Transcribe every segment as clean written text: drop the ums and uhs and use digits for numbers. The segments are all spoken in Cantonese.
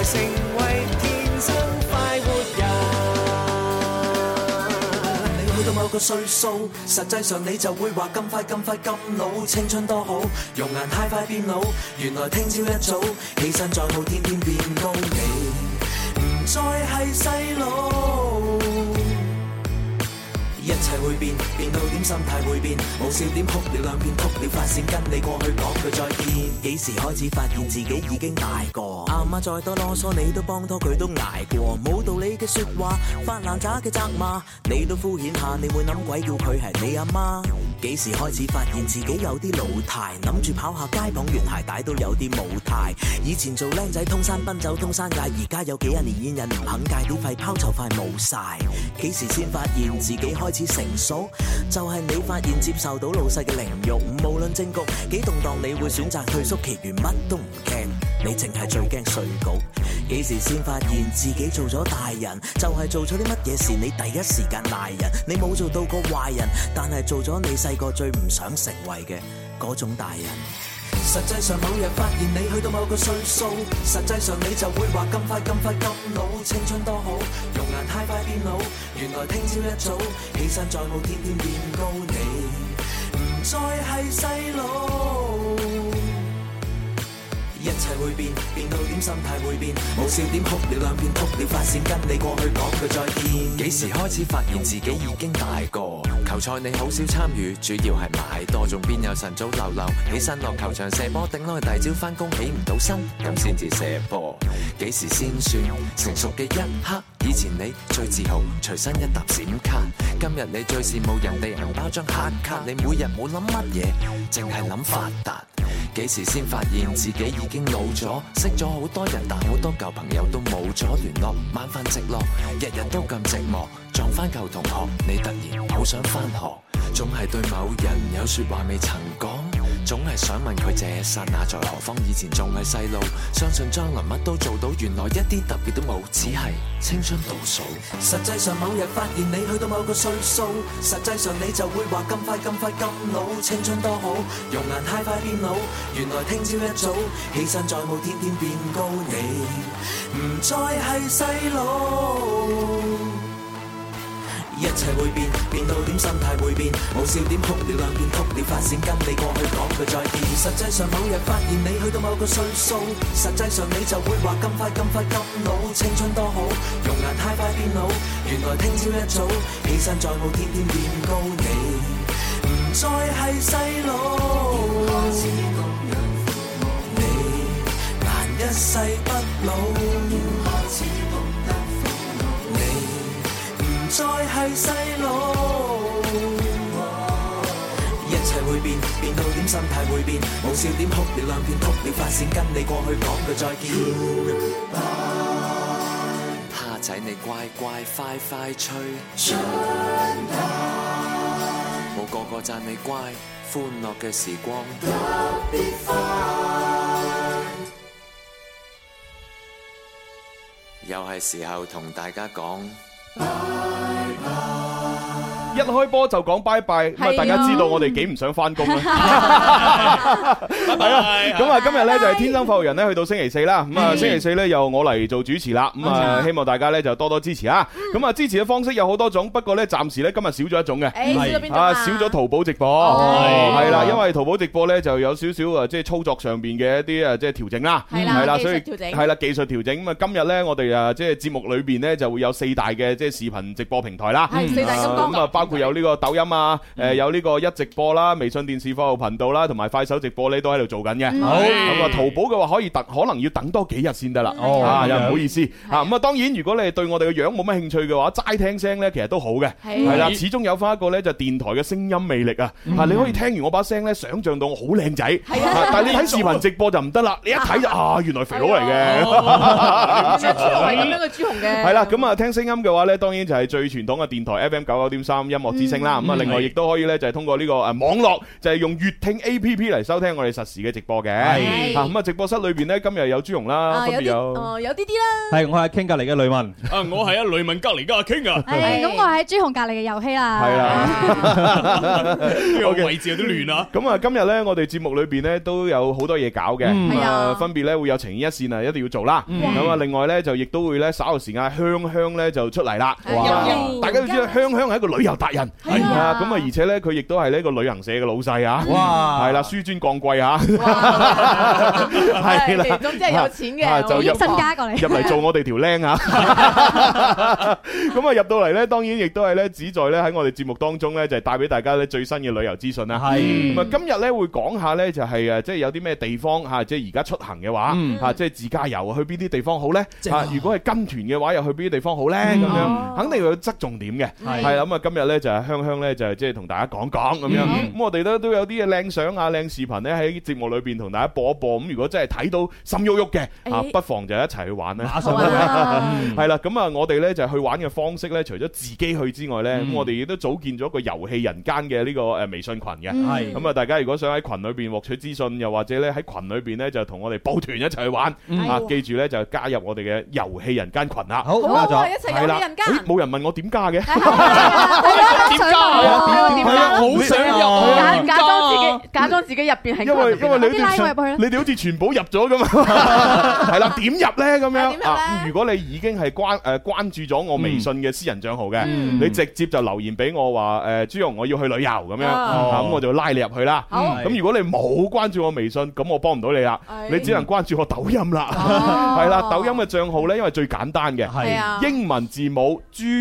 來成為天生快活人。你去到某個歲數，實際上你就會話咁快咁老，青春多好，容顏太快變老。原來聽朝一早起身再冇天天變高，你唔再係細路。一切會變，變到點心態會變，冇笑點哭了兩遍，哭了發線，跟你過去講句再見。幾時開始發現自己已經大個？阿媽再多囉嗦，你都幫拖佢都捱過。冇道理嘅説話，發爛渣嘅責罵，你都敷衍下，你會諗鬼叫佢係你阿媽？幾時開始發現自己有啲老態，諗住跑下街綁完鞋帶都有啲冇態。以前做僆仔通山奔走通山界，而家有幾廿年煙癮唔肯戒啲肺泡就快冇晒。幾時先發現自己開始成熟？就係你發現接受到老細嘅凌辱，無論政局幾動盪，你會選擇退縮，其餘乜都唔驚，你淨係最驚稅局。幾時先發現自己做咗大人？就係做咗啲乜嘢事，你第一時間賴人。你冇做到個壞人，但係做咗你細個最唔想成為嘅嗰種大人。實際上某日發現你去到某個歲數，實際上你就會話咁快老，青春多好，容顏太快變老。原來聽朝一早起身再冇天天變高，你唔再係細路。一切會變，變到點心態會變，冇笑點哭了兩遍，哭了發線，跟你過去講句再見。 幾時開始發現自己已經大個？球賽你好少參與，主要係買多，仲邊有晨早流流起身落球場射波，頂耐大朝翻工起唔到身，咁先至射波。幾時先算成熟嘅一刻？以前你最自豪隨身一沓閃卡，今日你最羨慕人哋銀包張黑卡。你每日冇諗乜嘢，淨係諗發達。幾時先發現自己已經老咗？識咗好多人，但好多舊朋友都冇咗聯絡。晚飯直落，日日都咁寂寞。撞翻舊同學，你突然好想翻學。總係對某人有説話未曾講，總係想問佢這剎那在何方？以前仲係細路，相信將來乜都做到，原來一啲特別都冇，只係青春倒數。 實際上某日發現你去到某個歲數，實際上你就會話咁快老，青春多好，容顏太快變老。原來聽朝一早起身再冇天天變高，你唔再係細路。一切會變，變到點心態會變，冇笑點哭了兩遍，哭了發線，跟你過去講句再見。實際上某日發現你去到某個歲數，實際上你就會話咁快老，青春多好，容顏太快變老。原來聽朝一早起身再冇天天變高，你唔再係細路。你難一世不老。再係細路，一切會變，變到點心態會變，冇笑點哭了兩遍，哭了發線，跟你過去講句再見。 蝦仔你乖乖快快吹，冇個個讚你乖，歡樂嘅時光特別快。又係時候同大家講。 一開波就講拜拜，咁啊大家知道我哋幾唔想翻工啦。係啦，咁啊今日咧就係天生快活人咧，去到星期四啦。咁啊星期四咧由我嚟做主持啦。咁啊希望大家咧就多多支持啊。咁啊支持嘅方式有好多種，不過咧暫時咧今日少咗一種嘅，少咗淘寶直播。係啦，因為淘寶直播咧就有少少啊，即係操作上邊嘅一啲啊即係調整啦。係啦，所以係啦技術調整。咁啊今日咧我哋啊即係節目裏邊咧就會有4大嘅即係視頻直播平台啦。 係4大金剛。 咁啊包括有呢個抖音啊，有呢個一直播啦、微信電視服務頻道啦，同埋快手直播咧都喺度做緊嘅。咁啊，淘寶嘅話可能要等多幾日先得啦。又唔好意思啊。咁啊，當然如果你係對我哋嘅樣冇乜興趣嘅話，齋聽聲咧其實都好嘅。係啦，始終有翻一個咧就電台嘅聲音魅力啊。你可以聽完我把聲咧，想像到我好靚仔。但係你睇視頻直播就唔得啦，你一睇就原來肥佬嚟嘅。 朱紅係咁樣嘅朱紅嘅。 係啦，咁啊聽聲音嘅話咧，當然就係最傳統嘅電台 FM 99.3 音樂之聲啦。咁啊，另外亦都可以咧就係通過呢個網絡，就係用粵聽 A.P.P 嚟收聽我哋實時嘅直播嘅。係咁啊，直播室裏邊咧今日有朱紅啦，分別有啲啦。 係我係傾隔離嘅雷文。 我係雷文隔離嘅阿傾啊。 咁我喺朱紅隔離嘅遊戲啦。 係啦， 呢個位置有啲亂啊。 咁啊，今日咧我哋節目裏邊咧都有好多嘢搞嘅。咁啊，分別咧會有情牽一線啊，一定要做啦。咁啊，另外咧就亦都會咧稍後時間香香咧就出嚟啦。大家都知道香香係一個旅遊達人，係啊。咁啊，而且咧佢亦都係呢個旅行社嘅老細啊。哇！係啦，紆尊降貴啊。係啦， 總之係有錢嘅， 就入身家過嚟入嚟做我哋條僆啊。咁啊入到嚟咧，當然亦都係咧旨在咧喺我哋節目當中咧就係帶俾大家咧最新嘅旅遊資訊啦。係咁啊，今日咧會講下咧就係誒，即係有啲咩地方吓，即係而家出行嘅話吓，即係自駕遊去邊啲地方好咧？吓，如果係跟團嘅話，又去邊啲地方好咧？咁樣肯定要側重點嘅。係啦，咁啊今日咧就係香香咧就係即係同大家講講咁樣。咁我哋都有啲嘅靚相啊、靚視頻咧喺節目裏邊同大家播一播。咁如果真係睇到心喐喐嘅啊，不妨就一齊去玩啦。係啦，咁啊我哋咧就去玩嘅方式咧，除咗自己去之外咧，咁我哋亦都組建咗一個遊戲人間嘅呢個微信群嘅。係咁啊，大家如果想喺群裏邊獲取資訊，又或者咧喺群裏邊咧就同我哋報團一齊去玩啊，記住咧就加入我哋嘅遊戲人間群啦。 好，加咗一齊遊戲人間。 冇人問我點加嘅？ 點加啊？點加？ 好想入， 假裝自己入邊係。 因為你哋好似全部入咗咁啊。係啦，點入咧咁樣啊？如果你已經係關注咗我微信嘅私人賬號嘅，你直接就留言俾我話朱紅我要去旅遊咁樣，咁我就拉你入去啦。咁如果你冇關注我微信，咁我幫唔到你啦，你只能關注我抖音啦。係啦，抖音嘅賬號咧，因為最簡單嘅，係英文字母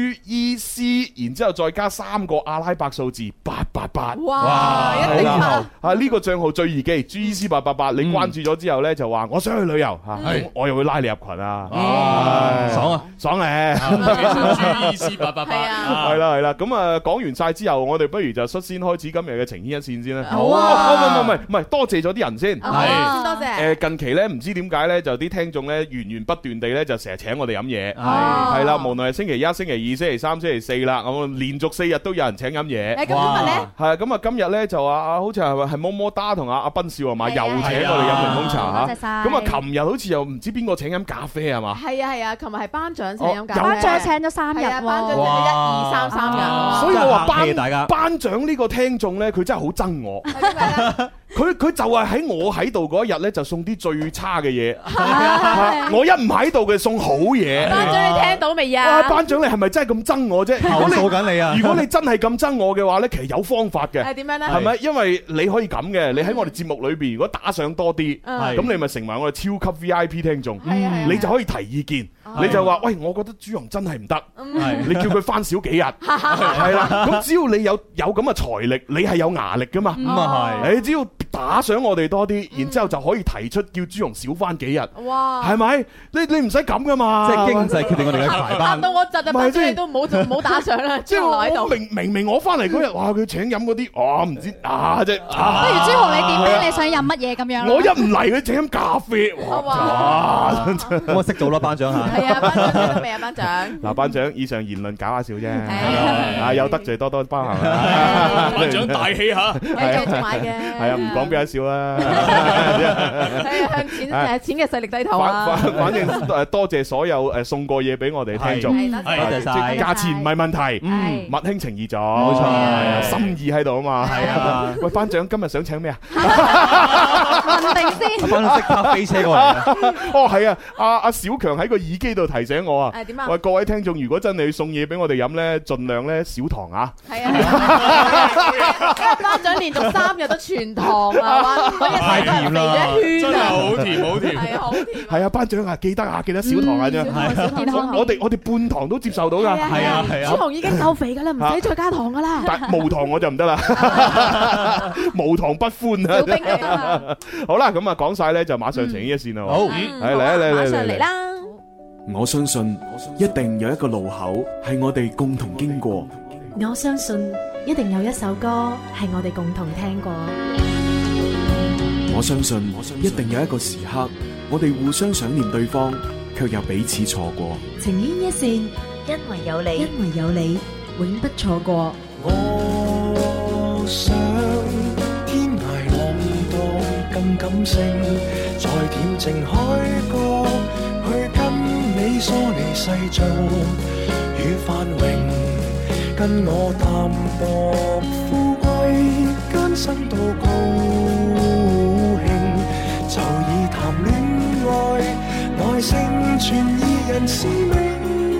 GEC， 然之後再加3個阿拉伯數字888。哇！一定啊！呢個賬號最易記 GEC 888，你關注咗之後咧，就話我想去旅遊嚇，我又會拉你入群啊！爽啊！爽咧！GEC 888係啦，咁啊講完晒之後，我哋不如就率先開始今日嘅情牽一線先啦。好啊！唔係，多謝咗啲人先。係多謝。近期咧唔知點解咧，就啲聽眾咧源源不斷地咧就成日請我哋飲嘢。係啦，無論係星期一、星期二、星期三、星期四啦，咁連續4日都有人請飲嘢。 咁今日咧？ 係咁啊！今日咧就話好似係麼麼噠同阿斌少係嘛，又請我哋飲檸檬茶嚇。咁啊，琴日好似又唔知邊個請飲咖啡係嘛？係啊，琴日係班長請飲咖啡。 班長請咗3日， 班長請咗1、2、3、3日。 所以我話班長呢個聽眾咧，佢真係好憎我。佢就係喺我喺度嗰一日咧，就送啲最差嘅嘢。我一唔喺度嘅送好嘢。 班長你聽到未啊？ 班長你係咪真係咁憎我啫？ 投訴緊你啊！ 如果你真係咁憎我嘅話咧，其實有方法嘅。 係點樣咧？ 係咪？因為你可以咁嘅，你喺我哋節目裏邊，如果打賞多啲，咁你咪成為我哋超級 VIP 聽眾，你就可以提意見。你就話喂，我覺得朱紅真係唔得，你叫佢翻少幾日，係啦。咁只要你有咁嘅財力，你係有牙力噶嘛。咁啊係，你只要打賞我哋多啲，然之後就可以提出叫朱紅少翻幾日。哇，係咪？你唔使咁噶嘛。 即係經濟決定我哋嘅排班。 到我窒啊，班長你都唔好打賞啦。 即係我明明我翻嚟嗰日，哇！佢請飲嗰啲，我唔知即係。 不如朱紅你點咧？你想飲乜嘢咁樣？ 我一唔嚟佢請飲咖啡，哇！ 咁我識做啦，班長嚇。 係啊，班長聽到未啊，班長？嗱， 班長以上言論搞下笑啫，有得罪多多包涵。 班長大氣嚇， 繼續買嘅。 係啊，唔講俾人笑啦。 向錢嘅勢力低頭啊！ 反正多謝所有送過嘢俾我哋聽眾， 多謝曬。價錢唔係問題，物輕情義做，冇錯，心意喺度啊嘛。係啊，喂，班長今日想請咩啊？ 問定先。 班長即刻飛車過嚟。 哦，係啊，阿小強喺個耳機度提醒我啊。 點啊？ 喂，各位聽眾，如果真係要送嘢俾我哋飲咧，盡量咧少糖啊。係啊。 因為班長連續3日都全糖啊， 太甜啦， 真係好甜好甜。 係好甜。 係啊，班長啊，記得少糖啊啫。我哋半糖都接受到㗎。係啊。 朱紅已經夠肥㗎啦，唔使再加糖㗎啦。 但無糖我就唔得啦，無糖不歡啊。小兵嚟啊！好啦，咁啊講晒咧，就馬上情牽一線啦。好， 馬上嚟啦！ 我相信一定有一個路口係我哋共同經過。 我相信一定有一首歌係我哋共同聽過。 我相信一定有一個時刻，我哋互相想念對方，卻又彼此錯過。 情牽一線，因為有你，永不錯過。 我想天涯浪蕩更感性，在恬靜海角去跟你疏離世俗與繁榮，跟我淡薄富貴艱辛到高興，就以談戀愛來成全二人使命。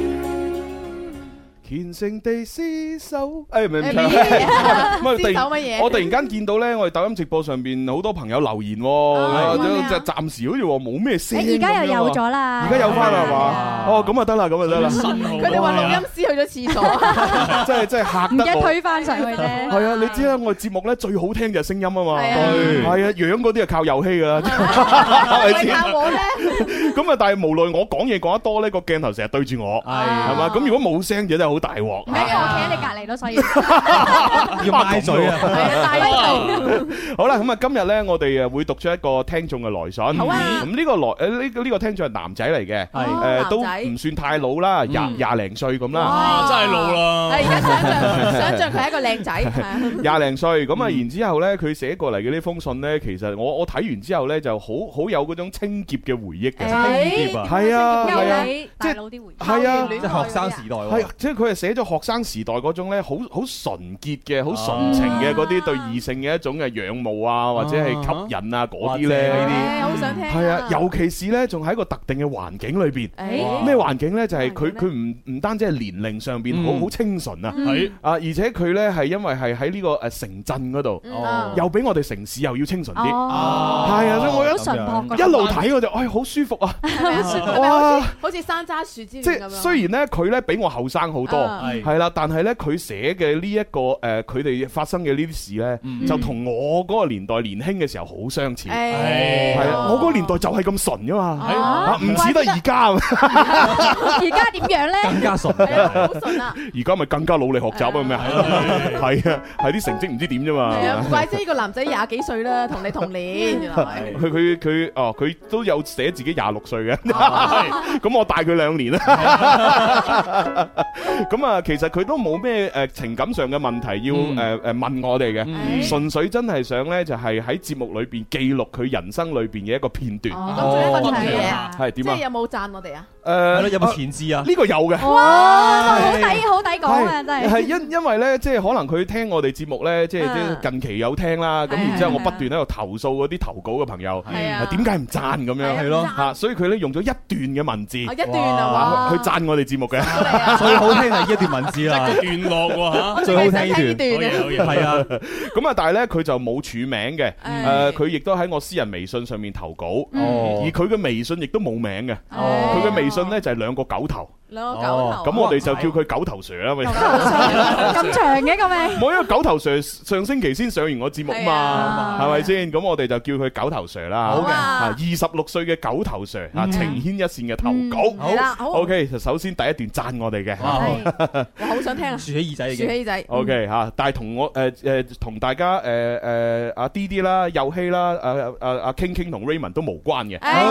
虔誠地廝守，唔係唱，我突然間見到咧，我哋抖音直播上邊好多朋友留言，就暫時好似話冇咩聲。 而家又有咗啦， 而家有翻啦係嘛？哦，咁啊得啦，咁啊得啦。 佢哋話錄音師去咗廁所， 真係嚇得我。 唔記得推翻上去啫。 係啊，你知啦，我哋節目咧最好聽就係聲音啊嘛。係啊，樣嗰啲係靠遊戲㗎啦。 係靠我咧。 咁啊，但係無奈我講嘢講得多咧，個鏡頭成日對住我，係嘛？咁如果冇聲就真係好大鑊。 唔係，我企喺你隔離咯，所以要嗌嘴啊！ 係啊，大聲。 好啦，咁啊，今日咧，我哋會讀出一個聽眾嘅來信。 好啊。 咁呢個呢個聽眾係男仔嚟嘅，係都唔算太老啦，廿零歲咁啦。 哇，真係老啦！ 係而家想像佢係一個靚仔， 廿零歲咁啊，然之後咧，佢寫過嚟嘅呢封信咧，其實我睇完之後咧，就好有嗰種清潔嘅回憶嘅。 清潔啊！ 係啊，係啊， 大佬啲回憶。 係啊， 即係學生時代喎。 係，即係佢係寫咗學生時代嗰種咧，好純潔嘅、好純情嘅嗰啲對異性嘅一種嘅仰慕啊，或者係吸引啊嗰啲咧，呢啲好想聽。 係啊，尤其是咧，仲喺一個特定嘅環境裏邊。咩環境咧？就係佢唔單止係年齡上邊好清純啊，而且佢咧係因為係喺呢個城鎮嗰度，又比我哋城市又要清純啲。係啊，所以我一路睇我就好舒服啊！ 哇，好似山楂樹之戀咁樣。 即係雖然咧佢咧比我後生好多，係啦，但係咧佢寫嘅呢一個佢哋發生嘅呢啲事咧，就同我嗰個年代年輕嘅時候好相似。係啊，我嗰個年代就係咁純噶嘛，唔似得而家。 而家點樣咧？ 更加純， 好純啊！ 而家咪更加努力學習啊？咩啊？係啊，係啲成績唔知點啫嘛。 係啊，唔怪之呢個男仔廿幾歲啦，同你同年。原來佢都有寫自己26歲嘅，咁我大佢2年啦。咁啊，其實佢都冇咩情感上嘅問題要問我哋嘅，純粹真係想咧就係喺節目裏邊記錄佢人生裏邊嘅一個片段。 咁仲有一個嘢啊， 係點啊？ 即係有冇讚我哋啊？ 係咯，有冇前置啊？ 呢個有嘅。 哇，好抵講啊，真係。 係因為咧，即係可能佢聽我哋節目咧，即係近期有聽啦。咁然之後我不斷喺度投訴嗰啲投稿嘅朋友，點解唔讚咁樣？係咯嚇，所以佢咧用咗一段嘅文字， 一段啊， 去讚我哋節目嘅。 最好聽係呢一段文字啦， 段落喎嚇， 最好聽呢段。 係啊，咁啊，但係咧佢就冇署名嘅，佢亦都喺我私人微信上面投稿，而佢嘅微信亦都冇名嘅，佢嘅微信咧就係2個狗頭。 兩個狗頭， 咁我哋就叫佢狗頭 Sir 啦，咪咁長嘅個名。 冇，因為狗頭 Sir 上星期先上完我節目嘛，係咪先？咁我哋就叫佢狗頭 Sir 啦。好嘅，26歲嘅狗頭 Sir 啊，情牽一線嘅投稿。 好啦 ，OK，就首先第一段讚我哋嘅。 我好想聽啊，豎起耳仔嘅。 豎起耳仔。 OK 嚇，但係同我同大家阿 D 啦、佑希啦、阿 King 同 Raymond 都無關嘅。 咁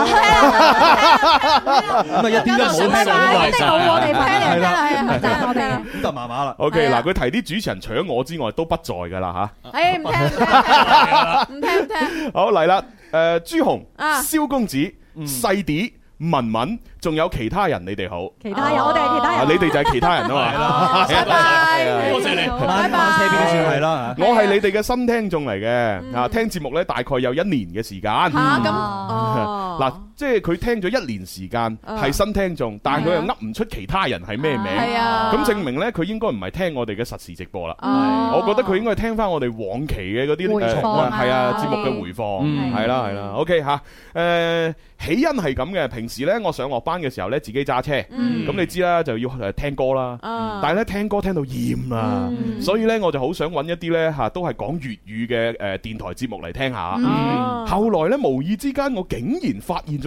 啊一啲都冇聽到。 我哋聽嚟聽啦，係啊，我哋咁就麻麻啦。 OK，嗱，佢提啲主持人除咗我之外都不在噶啦吓。 唔聽。 好嚟啦，朱紅、蕭公子、細啲、文文，仲有其他人，你哋好。 其他人，我哋係其他人。 你哋就係其他人啊嘛。 拜拜， 多謝你。 拜拜，車邊都算係啦。 我係你哋嘅新聽眾嚟嘅，啊，聽節目咧大概有1年嘅時間。嗱，即係佢聽咗1年時間，係新聽眾，但係佢又噏唔出其他人係咩名，咁證明咧佢應該唔係聽我哋嘅實時直播啦。我覺得佢應該係聽翻我哋往期嘅嗰啲係啊節目嘅回放，係啦。OK 吓，起因係咁嘅。平時咧我上落班嘅時候咧自己揸車，咁你知啦就要聽歌啦，但係咧聽歌聽到厭啦，所以咧我就好想揾一啲咧吓都係講粵語嘅電台節目嚟聽下。後來咧無意之間我竟然發現咗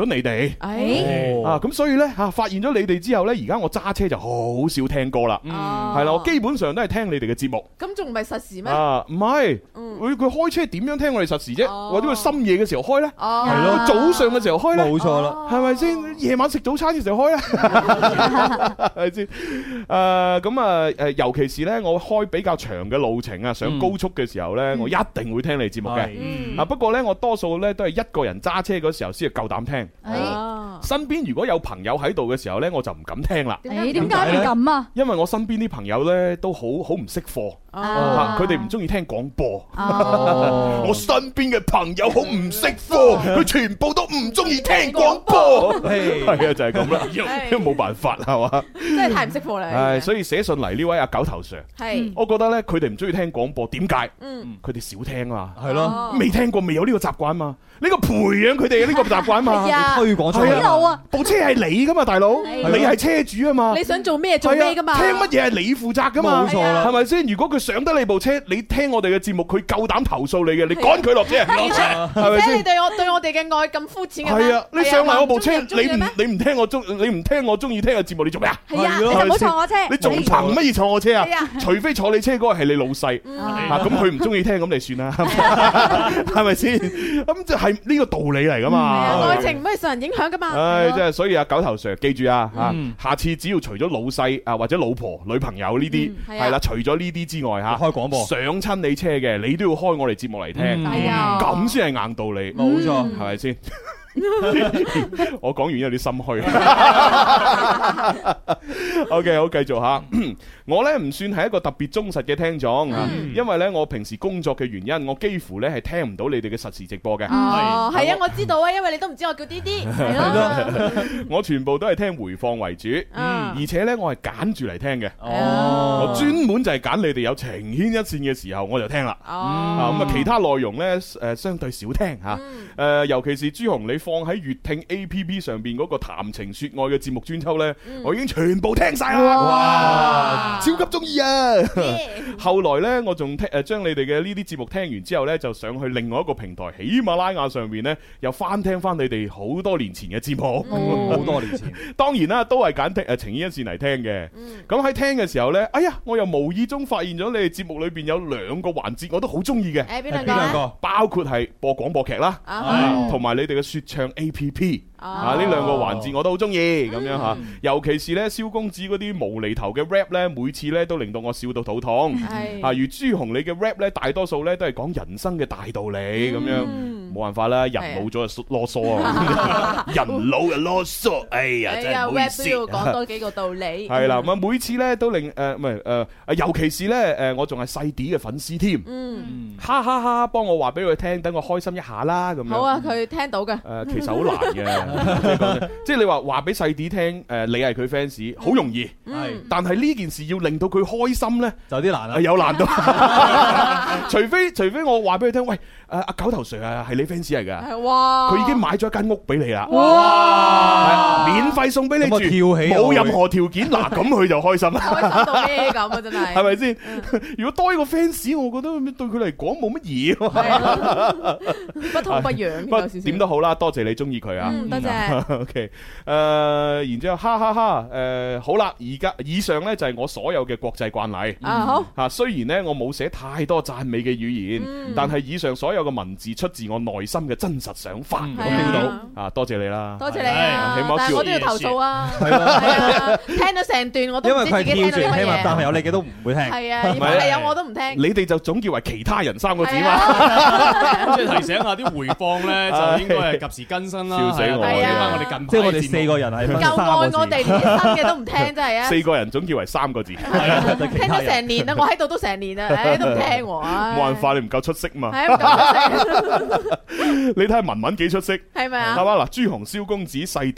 咗你哋。咁所以咧發現咗你哋之後咧，而家我揸車就好少聽歌啦。係啦，我基本上都係聽你哋嘅節目。 咁仲唔係實時咩？ 唔係，佢開車點樣聽我哋實時啫？或者佢深夜嘅時候開咧？係咯，早上嘅時候開咧？冇錯啦，係咪先？夜晚食早餐嘅時候開咧？係咪先？尤其是咧，我開比較長嘅路程啊，上高速嘅時候咧，我一定會聽你節目嘅。不過咧，我多數咧都係一個人揸車嗰時候先係夠膽聽。身邊如果有朋友喺度嘅時候咧，我就唔敢聽啦。 點解唔敢啊？ 因為我身邊啲朋友咧都好唔識貨，佢哋唔中意聽廣播。我身邊嘅朋友好唔識貨，佢全部都唔中意聽廣播。係啊，就係咁啦，因為冇辦法係嘛， 真係太唔識貨啦。 係，所以寫信嚟呢位阿九頭 Sir， 我覺得咧佢哋唔中意聽廣播，點解？佢哋少聽啊，係咯，未聽過，未有呢個習慣嘛。呢個培養佢哋嘅呢個習慣嘛， 推廣出嚟啊！ 部車係你噶嘛，大佬，你係車主啊嘛， 你想做咩做咩噶嘛， 聽乜嘢係你負責噶嘛， 冇錯啦， 係咪先？如果佢上得你部車，你聽我哋嘅節目，佢夠膽投訴你嘅，你趕佢落車， 而且你對我哋嘅愛咁膚淺嘅咩？ 係啊，你上埋我部車，你唔聽我中意聽嘅節目，你做咩啊？ 係啊，你就唔好坐我車， 你仲憑乜嘢坐我車啊？除非坐你車嗰個係你老細，咁佢唔中意聽，咁你算啦，係咪先？咁就係呢個道理嚟噶嘛。 愛情唔可以受人影響噶嘛。 唉，即係所以阿九頭 Sir 記住啊，下次只要除咗老細啊或者老婆、女朋友呢啲係啦，除咗呢啲之外開廣播上親你車嘅，你都要開我哋節目嚟聽，咁先係硬道理。冇錯，係咪先？我講完有啲心虛。OK， 好，繼續吓。我呢唔算係一個特別忠實嘅聽眾，因為呢我平時工作嘅原因，我幾乎呢係聽唔到你哋嘅實時直播嘅。 係啊，我知道啊，因為你都唔知我叫啲啲。係咯， 我全部都係聽回放為主，而且呢我係揀住嚟聽嘅。我專門就係揀你哋有情牽一線嘅時候我就聽啦。咁其他內容呢相對少聽吓。尤其是朱紅你放喺粵聽 APP 上邊嗰個談情說愛嘅節目專輯呢，我已經全部聽晒啦。哇！超級中意啊！後來呢，我仲將你哋嘅呢啲節目聽完之後呢，就上去另外一個平台喜馬拉雅上面呢，又翻聽翻你哋好多年前嘅節目。好多年前，當然啦，都係揀聽情牽一線嚟聽嘅。咁喺聽嘅時候呢，哎呀，我又無意中發現咗你哋節目裏邊有兩個環節，我都好中意嘅。 邊兩個？ 包括係播廣播劇啦，同埋你哋嘅說唱 APP。呢兩個環節我都好中意咁樣吓，尤其是咧蕭公子嗰啲無厘頭嘅 rap 咧，每次咧都令到我笑到肚痛。如朱紅你嘅 rap 咧，大多數咧都係講人生嘅大道理咁樣，冇辦法啦，人老咗就囉嗦啊，人老就囉嗦，哎呀真係唔好意思。 rap 都要講多幾個道理。 係啦，咁每次咧都令唔係尤其是咧我仲係細啲嘅粉絲添，哈哈哈，幫我話俾佢聽，等我開心一下啦咁樣。 好啊，佢聽到嘅。 其實好難嘅。即係你話俾細啲聽，你係佢 fans， 好容易。但係呢件事要令到佢開心呢，就有啲難啦，有難度。除非我話俾佢聽，喂，阿九頭 Sir 啊，係你 fans 嚟噶，佢已經買咗一間屋俾你啦，免費送俾你住，冇任何條件，嗱咁佢就開心啦。 開心到咩咁啊？真係，係咪先？如果多一個 fans，我覺得對佢嚟講冇乜嘢， 不痛不癢。不過點都好啦，多謝你中意佢啊。OK， 然之後哈哈哈，好啦，而家以上呢就係我所有嘅國際慣例。好吓，雖然呢我冇寫太多讚美嘅語言，但係以上所有嘅文字出自我內心嘅真實想法。我聽到啊，多謝你啦， 多謝你啊， 起碼但係我都要投訴啊，係啊，聽咗成段我都唔知自己聽到乜嘢， 但係有你嘅都唔會聽。 係啊，如果係有我都唔聽。 你哋就總結為其他人三個字嘛， 即係提醒下啲回放咧，就應該係及時更新啦。 笑死我！ 即係我哋四個人係夠愛我哋，連新嘅都唔聽，真係啊！ 四個人總結為三個字， 聽咗成年啦，我喺度都成年啦，都唔聽喎。 冇辦法，你唔夠出色嘛？ 係啊，唔夠出色。 你睇下文文幾出色， 係咪啊？ 係嘛嗱，朱紅蕭公子細啲文文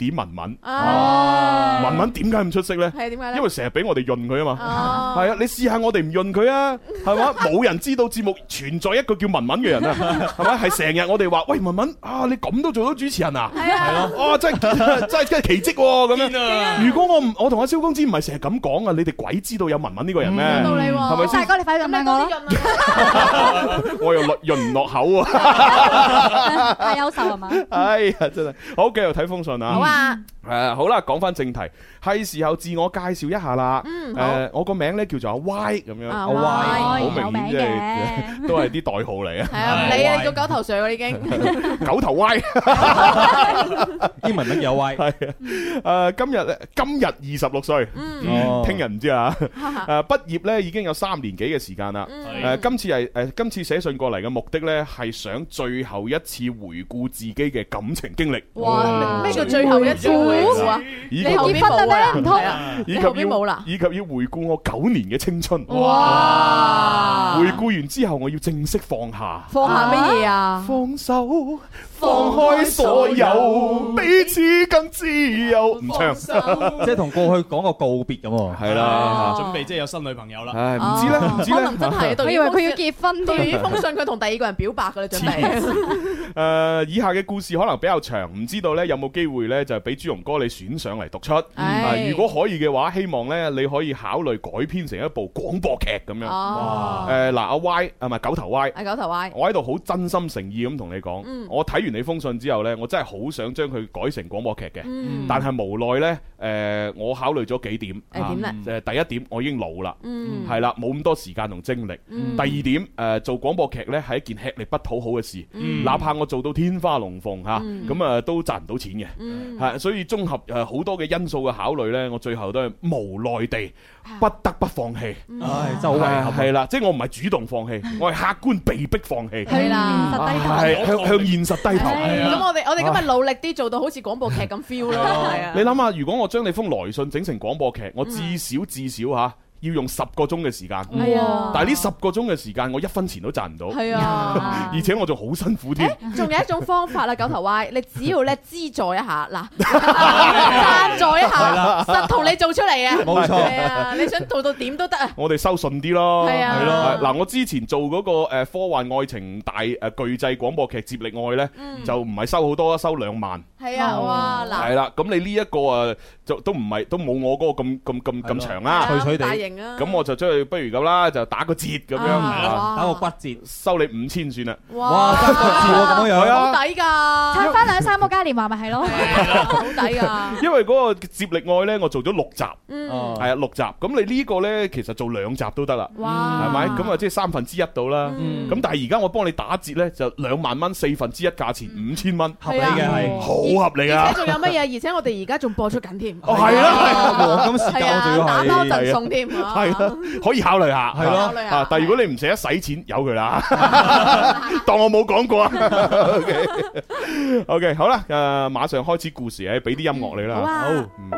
文。 哦， 文文點解咁出色咧？ 係點解咧？ 因為成日俾我哋潤佢啊嘛。 哦， 係啊，你試下我哋唔潤佢啊，係嘛？冇人知道節目存在一個叫文文嘅人啊，係咪？係成日我哋話喂文文啊，你咁都做到主持人啊？ 係啊， 哦，真係奇蹟喎咁樣。如果我同阿蕭公子唔係成日咁講啊，你哋鬼知道有文文呢個人咩？ 有道理喎， 係咪先？ 大哥你快啲咁樣我咯， 我又潤唔落口啊！ 太優秀係嘛？ 哎呀，真係好，繼續睇封信啊！ 好啊， 好啦，講翻正題，係時候自我介紹一下啦。我個名咧叫做阿 Y 咁樣， 阿 Y 好有明顯即係都係啲代號嚟啊。 係啊，你啊，叫狗頭上已經狗頭 Y， 英文名有 Y。 係今日26歲，聽日唔知啊。畢業咧已經有3年幾嘅時間啦。今次寫信過嚟嘅目的咧係想最後一次回顧自己嘅感情經歷。 哇！咩叫最後一次回顧啊？ 以你後邊冇啦，唔通？ 以及要回顧我9年嘅青春。 哇！ 回顧完之後，我要正式放下。 放下乜嘢啊？ 放手，放開所有，彼此更自由。唔唱， 即係同過去講個告別咁喎。 係啦， 準備即係有新女朋友啦。 唉，唔知咧， 可能真係。 我以為佢要結婚添。對於封信，佢同第二個人表白㗎啦，準備。 以下嘅故事可能比較長，唔知道咧有冇機會咧就俾朱容哥你選上嚟讀出。如果可以嘅話，希望咧你可以考慮改編成一部廣播劇咁樣。嗱，阿 Y 係咪狗頭 Y？ 狗頭 Y。 我喺度好真心誠意咁同你講，我睇完你封信之後咧，我真係好想將佢改成廣播劇嘅，但係無奈咧，我考慮咗幾點。 點咧？ 第一點，我已經老啦，係啦，冇咁多時間同精力。第二點，做廣播劇咧係一件吃力不討好嘅事，哪怕我做到天花龍鳳嚇，咁都賺唔到錢嘅。係，所以綜合好多嘅因素嘅考慮咧，我最後都係無奈地不得不放棄。 唉，真係好遺憾。 係啦，即係我唔係主動放棄，我係客觀被逼放棄。 係啦， 係向現實低頭。 咁我哋今日努力啲，做到好似廣播劇咁 feel 咯。係啊。 你諗下，如果我將你封來信整成廣播劇，我至少嚇。要用10個鐘嘅時間，但係呢10個鐘嘅時間，我1分錢都賺唔到， 係啊， 而且我仲好辛苦添。 仲有一種方法啦，狗頭 Y， 你只要咧資助一下，嗱，贊助一下，實同你做出嚟嘅， 冇錯。 係啊，你想做到點都得啊。 我哋收順啲咯， 係啊， 係咯。嗱，我之前做嗰個科幻愛情大巨製廣播劇《接力愛》咧，就唔係收好多，收2萬。 係啊，哇嗱， 係啦，咁你呢一個就都冇我嗰個咁長啦， 脆脆地。 咁我就將佢不如咁啦，就打個折咁樣， 打個骨折， 收你5000算啦。 哇，打骨折喎咁樣， 好抵㗎， 拆翻2-3個嘉年華咪係咯， 好抵㗎。 因為嗰個接力愛咧，我做咗6集，係啊6集。咁你呢個咧，其實做2集都得啦，係咪？咁啊，即係1/3到啦。咁但係而家我幫你打折咧，就2萬蚊，1/4價錢5000蚊， 合理嘅係， 好合理啊！ 而且仲有乜嘢？而且我哋而家仲播出緊添。 哦，係啦， 黃金時間我仲要打多陣送添。 係啦，可以考慮下， 係咯。 但係如果你唔捨得使錢，由佢啦，當我冇講過啊。OK， 好啦，馬上開始故事，俾啲音樂你啦。好，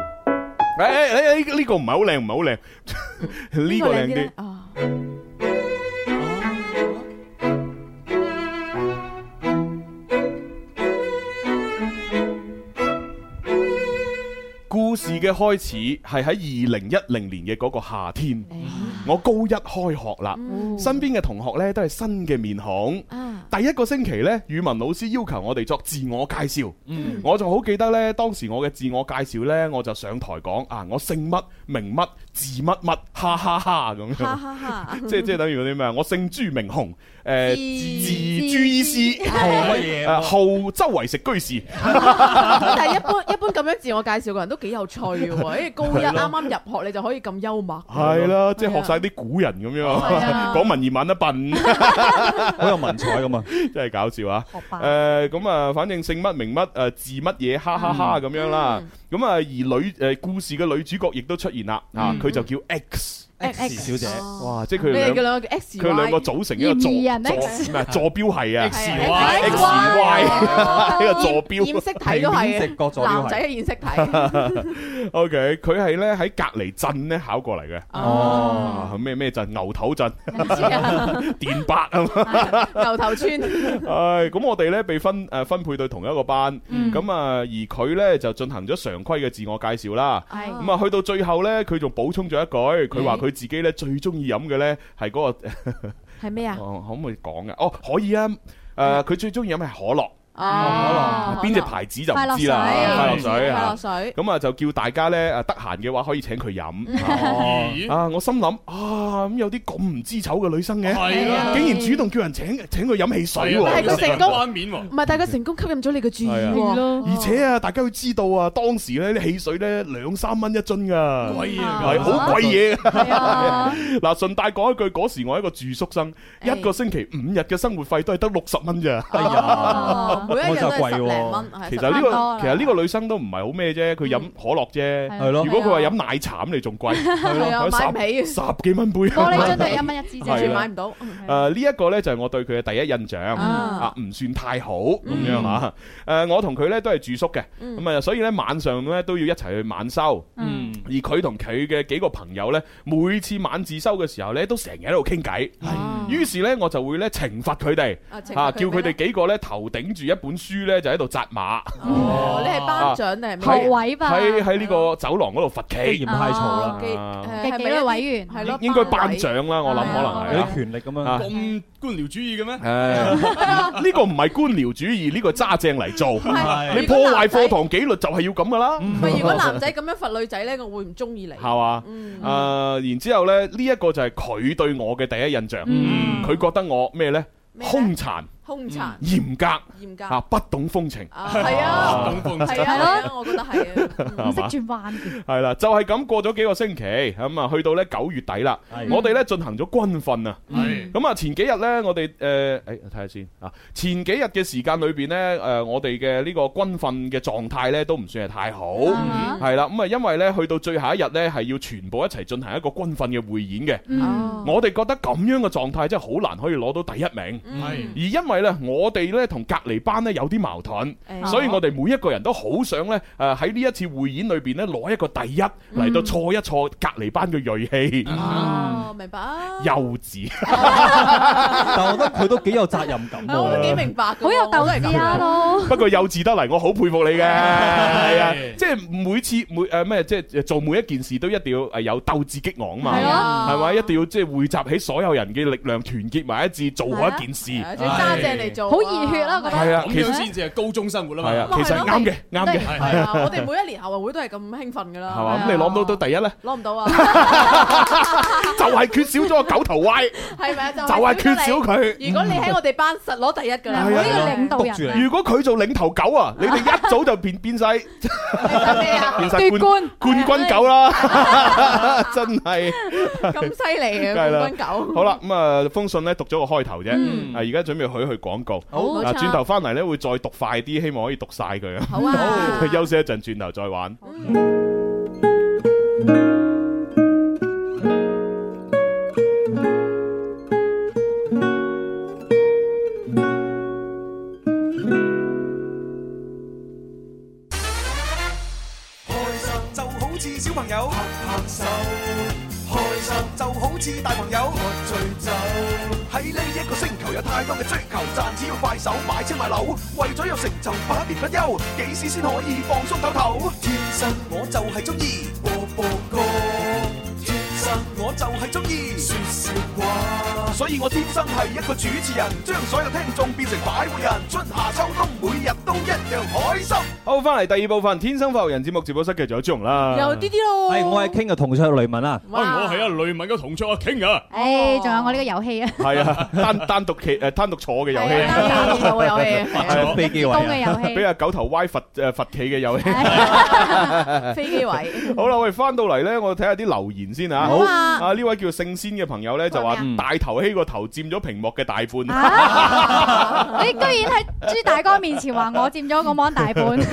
呢個唔係好靚，唔係好靚，呢個靚啲。故事嘅開始係喺2010年嘅嗰個夏天，我高1開學啦，身邊嘅同學呢都係新嘅面孔。第一個星期呢，語文老師要求我哋作自我介紹，我就好記得呢，當時我嘅自我介紹呢，我就上台講我姓乜名乜字乜乜，哈哈哈咁樣，即係等於嗰啲咩？我姓朱名雄，字朱醫師， 號乜嘢？ 號周圍食居士。 但係一般咁樣自我介紹嘅人都幾有趣嘅喎，因為高1啱啱入學你就可以咁幽默。 係啦，即係學晒啲古人咁樣，講文言文一笨， 好有文采咁啊！ 真係搞笑啊！咁啊，反正姓乜名乜字乜嘢，哈哈哈咁樣啦。咁啊，而故事嘅女主角亦都出現啦，佢就叫 X。 X 小姐， 哇！即係佢你哋哋叫兩個叫 X 佢兩個組成一個嫌疑人 X 咩坐標系啊 X Y 呢個坐標染色體都係食角座標男仔嘅染色體。 OK， 佢係咧喺隔離鎮咧考過嚟嘅。 哦， 咩鎮？牛頭鎮、 唔知啊， 電白啊嘛。 牛頭村。 咁我哋咧被分配到同一個班，咁啊而佢咧就進行咗常規嘅自我介紹啦。咁啊去到最後咧，佢仲補充咗一句，佢話佢自己咧最中意飲嘅咧係嗰個係咩啊？ 可唔可以講嘅？哦，可以啊。佢最中意飲係可樂。 哦， 邊隻牌子就唔知啦。快樂水，快樂水。咁啊就叫大家咧得閒嘅話可以請佢飲。我心諗咁有啲咁唔知醜嘅女生嘅，竟然主動叫人請佢飲汽水喎。 但係佢成功， 關面喎。 唔係，但係佢成功吸引咗你嘅注意喎。 而且啊，大家要知道啊，當時咧啲汽水咧2-3蚊一樽㗎， 貴啊， 係好貴嘢。 係啊。 嗱，順帶講一句，嗰時我係一個住宿生，一個星期5日嘅生活費都係得60蚊咋。 哎呀，每一日都係10零蚊。 其實呢個女生都唔係好咩啫，佢飲可樂啫。 係咯。 如果佢話飲奶茶咁，你仲貴。 係啊，買唔起。 10幾蚊杯。 玻璃樽都1蚊一支啫， 完全買唔到。 呢一個咧就係我對佢嘅第一印象，唔算太好咁樣嚇。我同佢咧都係住宿嘅，咁啊所以咧晚上咧都要一齊去晚修。而佢同佢嘅幾個朋友咧，每次晚自修嘅時候咧，都成日喺度傾偈。於是咧我就會咧懲罰佢哋，叫佢哋幾個咧頭頂住一本書咧就喺度紮馬。 哦，你係班長定係咩？ 學委吧。 喺呢個走廊嗰度罰企， 嫌太嘈啦。 嘅紀律委員係咯， 應該班長啦，我諗可能係有啲權力咁樣。 咁官僚主義嘅咩？ 呢個唔係官僚主義，呢個揸正嚟做。你破壞課堂紀律就係要咁噶啦。 唔係，如果男仔咁樣罰女仔咧，我會唔中意你。 係嘛？然之後咧，呢一個就係佢對我嘅第一印象。佢覺得我咩咧？兇殘。兇殘、嚴格不懂風情。 係啊，係啊，我覺得係啊， 唔識轉彎嘅。 係啦，就係咁過咗幾個星期，咁啊去到咧9月底啦，我哋咧進行咗軍訓啊。咁啊前幾日咧，我哋睇下先啊。前幾日嘅時間裏邊咧，我哋嘅呢個軍訓嘅狀態咧都唔算係太好，係啦。咁啊因為咧去到最後一日咧係要全部一齊進行一個軍訓嘅匯演嘅。我哋覺得咁樣嘅狀態真係好難可以攞到第一名，而因為我哋咧同隔離班咧有啲矛盾，所以我哋每一個人都好想咧喺呢一次匯演裏邊咧攞一個第一嚟到挫一挫隔離班嘅銳氣。 哦，明白。 幼稚， 但我覺得佢都幾有責任感。 我都幾明白， 好有鬥志咯。 不過幼稚得嚟，我好佩服你嘅。係啊，即係每次即係做每一件事都一定要有鬥志激昂嘛。係咪？一定要即係匯集起所有人嘅力量，團結埋一致，做好一件事。 揸正嚟做， 好熱血啦！覺得係啊， 其實先至係高中生活啦嘛。 係啊，其實係啱嘅，啱嘅。 係啊，我哋每一年校運會都係咁興奮噶啦。 係嘛？咁你攞唔到第一咧？ 攞唔到啊！ 就係缺少咗個九頭 Y。 係咪啊？就係缺少佢。 如果你喺我哋班實攞第一噶啦，呢個領導人。 如果佢做領頭狗啊，你哋一早就變晒奪冠冠軍狗啦！真係咁犀利嘅冠軍狗。 好啦，咁啊封信咧讀咗個開頭啫，而家準備去廣告。好，轉頭翻嚟咧會再讀快啲，希望可以讀晒佢啊。 好啊， 休息一陣，轉頭再玩。 小朋友拍拍手，開心就好似大朋友喝醉酒。喺呢一個星球有太多嘅追求，賺錢要快手買車買樓，為咗有成就百年不休，幾時先可以放鬆唞唞？天生我就係中意播播歌，天生我就係中意說笑話，所以我天生係一個主持人，將所有聽眾變成快活人，春夏秋冬每日都一樣開心。 好，翻嚟第二部分《天生快活人》節目直播室嘅仲有朱紅啦， 有啲啲咯。 係我係傾嘅同桌雷文啊， 我係啊雷文嘅同桌阿傾啊。 仲有我呢個遊戲啊。 係啊，單獨坐嘅遊戲， 單獨坐嘅遊戲， 飛機位嘅遊戲， 俾阿九頭 Y 罰企嘅遊戲， 飛機位。 好啦，我哋翻到嚟咧，我睇下啲留言先啊。 好啊， 呢位叫聖仙嘅朋友咧就話大頭希個頭佔咗屏幕嘅大半。 你居然喺朱大哥面前話我佔咗個芒大半。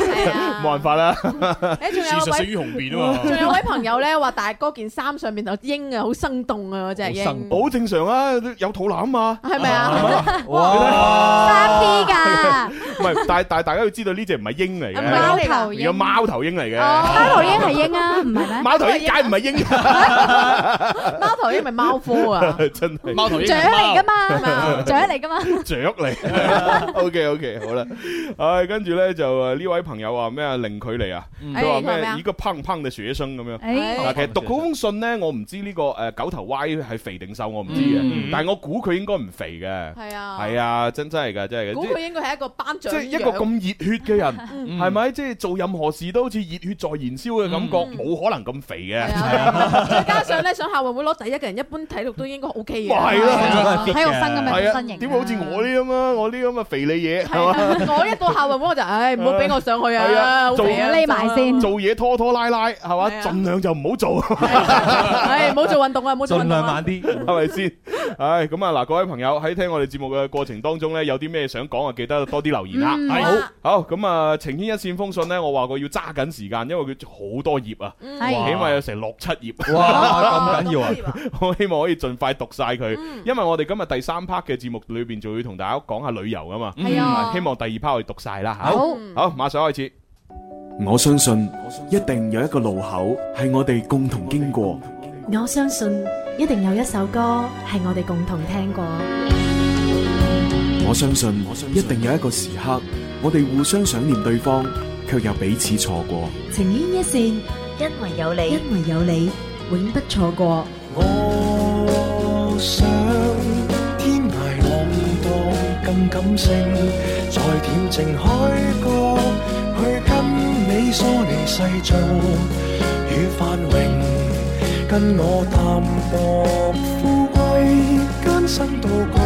冇辦法啦。 仲有事實勝於雄辯啊嘛。 仲有位朋友咧話，但係嗰件衫上面有鷹啊，好生動啊，嗰隻鷹。 好正常啊，有肚腩嘛。 係咪啊？ 哇！3D 㗎。 唔係，但係大家要知道呢隻唔係鷹嚟嘅， 貓頭鷹。 有貓頭鷹嚟嘅。 貓頭鷹係鷹啊，唔係咩？ 貓頭鷹梗唔係鷹。 貓頭鷹咪貓科啊？ 真係。 貓頭鷹雀嚟㗎嘛，雀嚟㗎嘛。 雀嚟。OK， 好啦。唉，跟住咧就呢位朋友話咩啊？零距離啊，佢話咩？一個胖胖嘅學生咁樣。嗱，其實讀嗰封信咧，我唔知呢個九頭 Y 係肥定瘦，我唔知嘅。但係我估佢應該唔肥嘅。係啊，真係㗎，真係㗎。 估佢應該係一個班長。 即係一個咁熱血嘅人，係咪？即係做任何事都好似熱血在燃燒嘅感覺，冇可能咁肥嘅。 再加上咧，上校運會攞第一嘅人，一般體力都應該 OK 嘅。 係咯， 體育生咁嘅身形。 點會好似我呢咁啊？我呢咁嘅肥膩嘢係嘛？ 我一到校運會我就唔好俾我上去啊！ 做匿埋先， 做嘢拖拖拉拉係嘛？盡量就唔好做。 唔好做運動啊！唔好做運動。 盡量慢啲， 係咪先？唉，咁啊嗱，各位朋友喺聽我哋節目嘅過程當中咧，有啲咩想講啊？記得多啲留言啦。好，咁啊，情牽一線封信咧，我話過要揸緊時間，因為佢好多頁啊，起碼有成6-7頁。 哇，咁緊要啊！ 我希望可以盡快讀晒佢，因為我哋今日第3 part 嘅節目裏邊就要同大家講下旅遊噶嘛。希望第2 part 可以讀晒啦。好，馬上開始。 我相信一定有一個路口係我哋共同經過。 我相信一定有一首歌係我哋共同聽過。 我相信一定有一個時刻，我哋互相想念對方，卻又彼此錯過。 情牽一線，因為有你，因為有你，永不錯過。 我想天涯浪蕩更感性，在恬靜海角去跟你疏離世俗與繁榮。跟我淡薄富貴，艱辛到高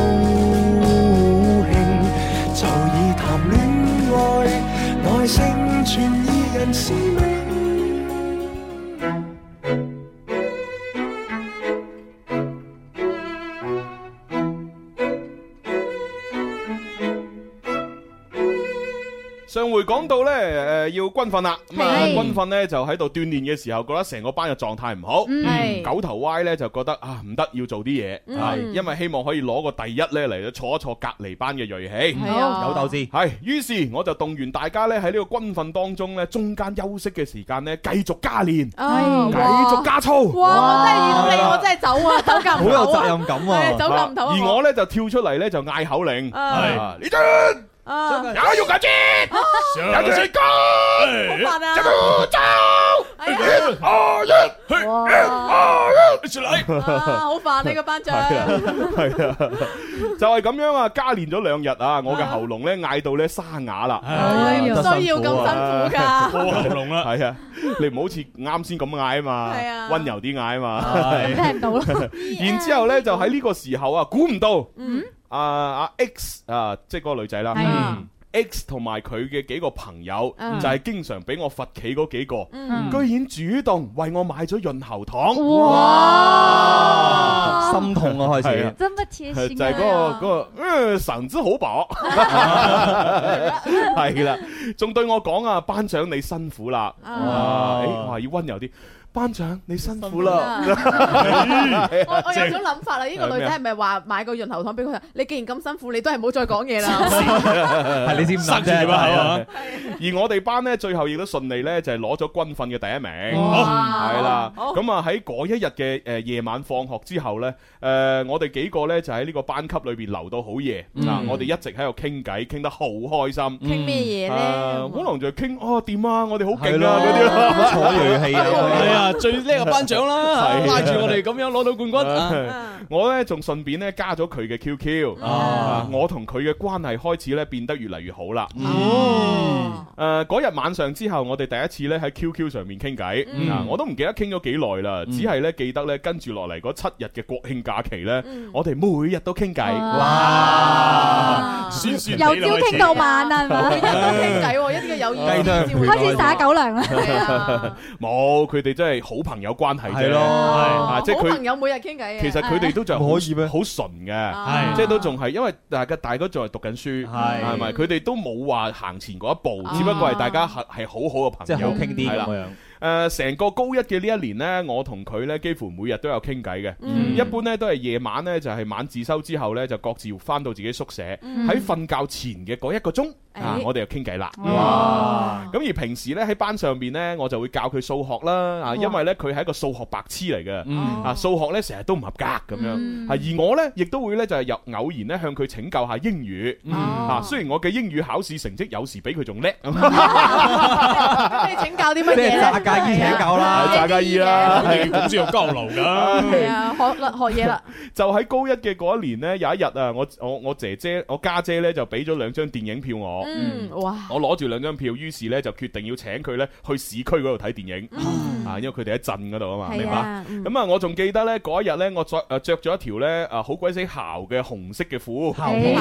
興，就以談戀愛來成全二人使命。 上回講到咧，要軍訓啦，咁啊軍訓咧就喺度鍛煉嘅時候，覺得成個班嘅狀態唔好。九頭 Y 咧就覺得啊唔得，要做啲嘢，因為希望可以攞個第一咧嚟坐一坐隔離班嘅銳氣， 有鬥志。 係，於是我就動員大家咧喺呢個軍訓當中咧，中間休息嘅時間咧繼續加練，繼續加操。 哇！我真係遇到你，我真係走啊，走夾唔到。 好有責任感啊！ 走夾唔到。 而我咧就跳出嚟咧就嗌口令，係呢陣。有改進，有成功， 好煩啊！好煩你個班長。 係啊，就係咁樣啊！加練咗2日啊，我嘅喉嚨咧嗌到咧沙啞啦， 需要咁辛苦噶， 破喉嚨啦。係啊，你唔好似啱先咁嗌啊嘛，溫柔啲嗌啊嘛， 聽唔到啦。 然之後咧就喺呢個時候啊，估唔到，阿 X 啊，即係嗰個女仔啦。X 同埋佢嘅幾個朋友就係經常俾我罰企嗰幾個，居然主動為我買咗潤喉糖， 哇！心痛啊，開始， 真不貼心， 就係嗰個神之好薄，係啦，仲對我講啊，班長你辛苦啦，我話要溫柔啲。班長，你辛苦啦！ 我有種諗法啦，呢個女仔係咪話買個潤喉糖俾佢？你既然咁辛苦，你都係唔好再講嘢啦。 係你先塞住把口啊！ 而我哋班咧，最後亦都順利咧，就係攞咗軍訓嘅第1名。係啦，咁啊喺嗰一日嘅夜晚放學之後咧，我哋幾個咧就喺呢個班級裏邊留到好夜。嗱，我哋一直喺度傾偈，傾得好開心。 傾咩嘢咧？ 可能就係傾掂啊！我哋好勁啊嗰啲咯， 坐銳氣啊！ 最叻嘅班長啦，拉住我哋咁樣攞到冠軍。 我咧仲順便咧加咗佢嘅 QQ，我同佢嘅關係開始咧變得越嚟越好啦。嗰日晚上之後，我哋第一次咧喺 QQ 上面傾偈，我都唔記得傾咗幾耐啦，只係咧記得咧跟住落嚟嗰7日嘅國慶假期咧，我哋每日都傾偈。哇！ 由朝傾到晚啊， 每日都傾偈，一啲嘅友誼。 開始撒狗糧啦。 冇，佢哋真係好朋友關係啫。 係咯即係佢好朋友每日傾偈嘅。 其實佢哋都仲可以咩？ 好純嘅，即係都仲係因為大家仲係讀緊書，係咪？佢哋都冇話行前嗰一步，只不過係大家係好好嘅朋友， 即係好傾啲咁樣。 成個高一嘅呢一年呢，我同佢呢幾乎每日都有傾偈嘅。一般呢都係夜晚呢，就係晚自修之後呢，就各自翻到自己宿舍。喺瞓覺前嘅嗰1個鐘，我哋就傾偈啦。哇！咁而平時呢，喺班上邊呢，我就會教佢數學啦。因為呢，佢係一個數學白痴嚟嘅。數學呢成日都唔合格咁樣。而我呢，亦都會呢，就係偶然呢向佢請教下英語。雖然我嘅英語考試成績有時比佢仲叻。 你請教啲乜嘢？ 家姨請教啦， 炸家姨啦， 咁先有交流噶。 係啊，學嘢啦。 就喺高一嘅嗰一年呢，有一日啊，我家姐咧就俾咗2張電影票我。 哇！ 我攞住2張票，於是咧就決定要請佢咧去市區嗰度睇電影。因為佢哋喺鎮嗰度啊嘛，明白？咁啊，我仲記得咧嗰一日咧，我着咗一條咧好鬼死姣嘅紅色嘅褲，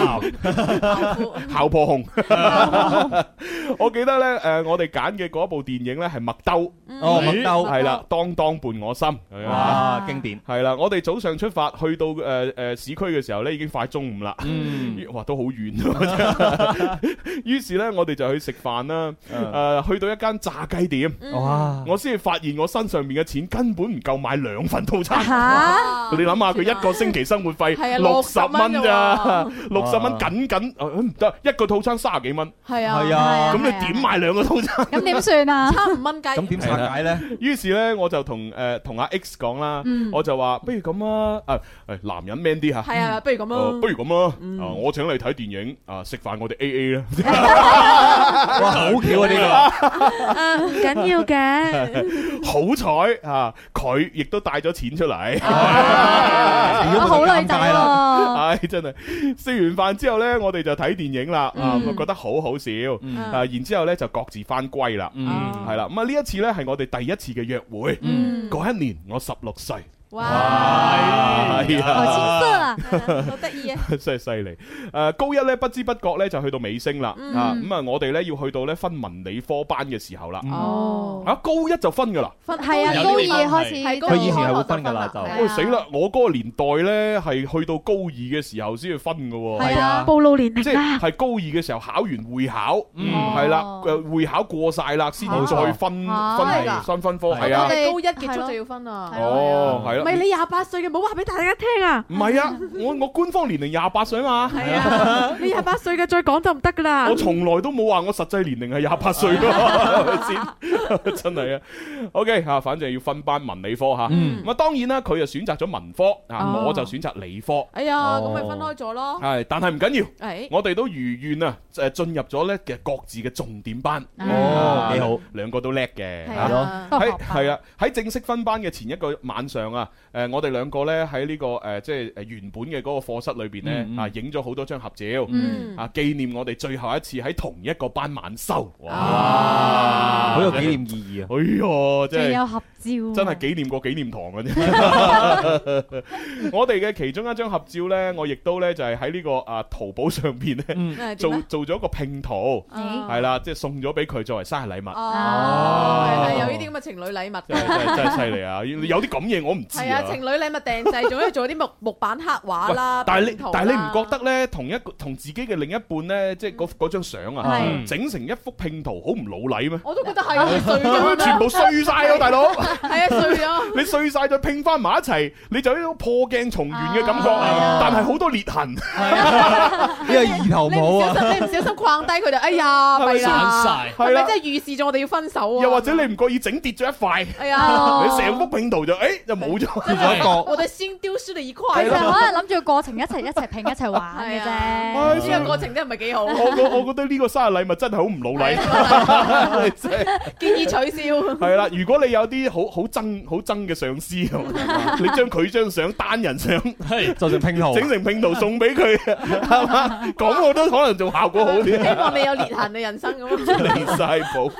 姣婆紅。我記得咧我哋揀嘅嗰部電影咧係麥兜。 麥兜係啦，當當伴我心， 哇，經典係啦。我哋早上出發去到市區嘅時候咧，已經快中午啦，哇，都好遠。於是咧，我哋就去食飯啦。去到一間炸雞店，哇！我先至發現我身上面嘅錢根本唔夠買2份套餐。你諗下，佢1個星期生活費60蚊咋？60蚊緊唔得，一個套餐30幾蚊。 係啊， 咁你點買2個套餐？ 咁點算啊？ 差5蚊雞。 咁點拆解咧？ 於是咧，我就同阿 X 講啦，我就話不如咁啊，男人 man 啲吓。係啊，不如咁咯。 不如咁啊，我請你睇電影，食飯我哋 AA 啦。 哇，好巧啊呢個。 唔緊要嘅。 好彩啊，佢亦都帶咗錢出嚟。 好女仔喎。 唉，真係食完飯之後咧，我哋就睇電影啦。覺得好好笑。然之後咧就各自翻歸啦。係啦，咁啊呢一次咧係我哋第一次嘅約會。嗰一年我16歲。 哇！ 係啊， 好青澀啊， 好得意啊， 真係犀利。高一咧不知不覺咧就去到尾聲啦。咁啊，我哋咧要去到咧分文理科班嘅時候啦。高一就分噶啦。 係啊，高2開始， 佢以前係會分噶啦就。 喂，死啦！我嗰個年代咧係去到高2嘅時候先去分噶。 係啊，暴露年齡即係高2嘅時候考完會考，係啦，會考過晒啦，先至再分科。係啊， 我哋高1結束就要分啦。 哦，係。 唔係你28歲嘅，唔好話俾大家聽啊！ 唔係啊，我官方年齡28歲嘛。 係啊，你28歲嘅再講就唔得噶啦。 我從來都冇話我實際年齡係28歲咯，係咪先？真係啊。OK 吓，反正要分班文理科吓。咁啊，當然啦，佢就選擇咗文科，我就選擇理科。 哎呀，咁咪分開咗咯。 係，但係唔緊要，我哋都如願啊，進入咗咧嘅各自嘅重點班。 哦，幾好 ，2個都叻嘅。 係咯， 係啊，喺正式分班嘅前一個晚上啊。我哋2個咧喺呢個即係原本嘅嗰個課室裏邊咧影咗好多張合照，紀念我哋最後一次喺同一個班晚修。哇， 好有紀念意義啊！ 哎呀，真係有合照， 真係紀念過紀念堂嘅啫。我哋嘅其中一張合照咧，我亦都咧就係喺呢個淘寶上邊咧做咗一個拼圖，係啦，即係送咗俾佢作為生日禮物。 係有呢啲咁嘅情侶禮物， 真係犀利啊！有啲咁嘢我唔知啊。 情侶禮物訂製，仲要做啲木板刻畫啦。 但係你唔覺得咧，同自己嘅另一半咧，即係嗰張相啊，整成一幅拼圖好唔老禮咩？ 我都覺得係碎咗， 全部碎晒咯，大佬。 係啊，碎咗。 你碎晒再拼翻埋一齊，你就有一種破鏡重圓嘅感覺，但係好多裂痕。 呢個意頭冇啊！ 你唔小心框低佢就，哎呀，咪啦，係咪真係預示咗我哋要分手啊？ 又或者你唔覺意整跌咗一塊， 哎呀， 你成幅拼圖就冇咗。 我哋先丟失咗一塊。 其實可能諗住個過程一齊拼一齊玩嘅啫。 呢個過程真係唔係幾好。 我覺得呢個生日禮物真係好唔老禮。 建議取消。 係啦，如果你有啲好憎嘅上司，你將佢張相單人相做成拼圖， 整成拼圖送俾佢，係嘛？咁我都可能仲效果好啲。 希望你有裂痕嘅人生咁。 離晒譜。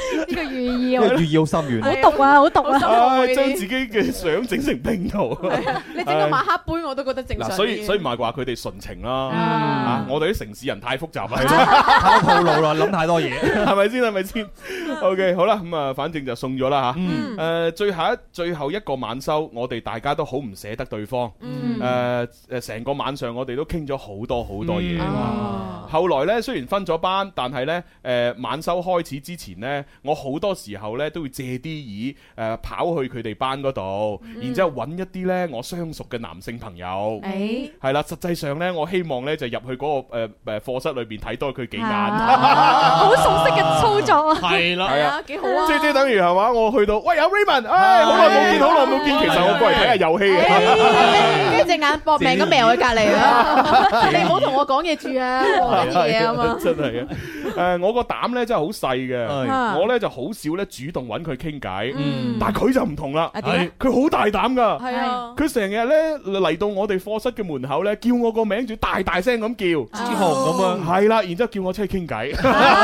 呢個寓意寓意好深遠， 好毒啊，好毒啊！ 將自己嘅相整成拼圖。 你整個馬克杯我都覺得正常。 所以唔係話佢哋純情啦。我哋啲城市人太複雜啦， 太套路啦，諗太多嘢， 係咪先 ？OK， 好啦，咁啊，反正就送咗啦吓。最後一個晚修，我哋大家都好唔捨得對方。成個晚上我哋都傾咗好多嘢。後來呢，雖然分咗班，但係呢，晚修開始之前呢，我好多時候呢都會借啲意跑去佢哋班嗰度，然之後揾一啲呢我相熟嘅男性朋友。係啦，實際上呢，我希望呢就入去嗰個課室裏邊睇多佢幾眼。 好熟悉嘅操作啊！ 係啦， 係啊，幾好啊！ 即係等於係嘛，我去到，喂，有 Raymond， 好耐冇見，其實我過嚟睇下遊戲嘅。 跟住隻眼搏命咁瞄喺隔離啊！你唔好同我講嘢住啊！講嘢啊嘛！ 真係啊！我個膽咧真係好細嘅，我咧就好少咧主動揾佢傾偈，但係佢就唔同啦，佢好大膽㗎，佢成日咧嚟到我哋課室嘅門口咧，叫我個名，仲大大聲咁叫， 之後咁樣， 係啦，然之後叫我出去傾偈。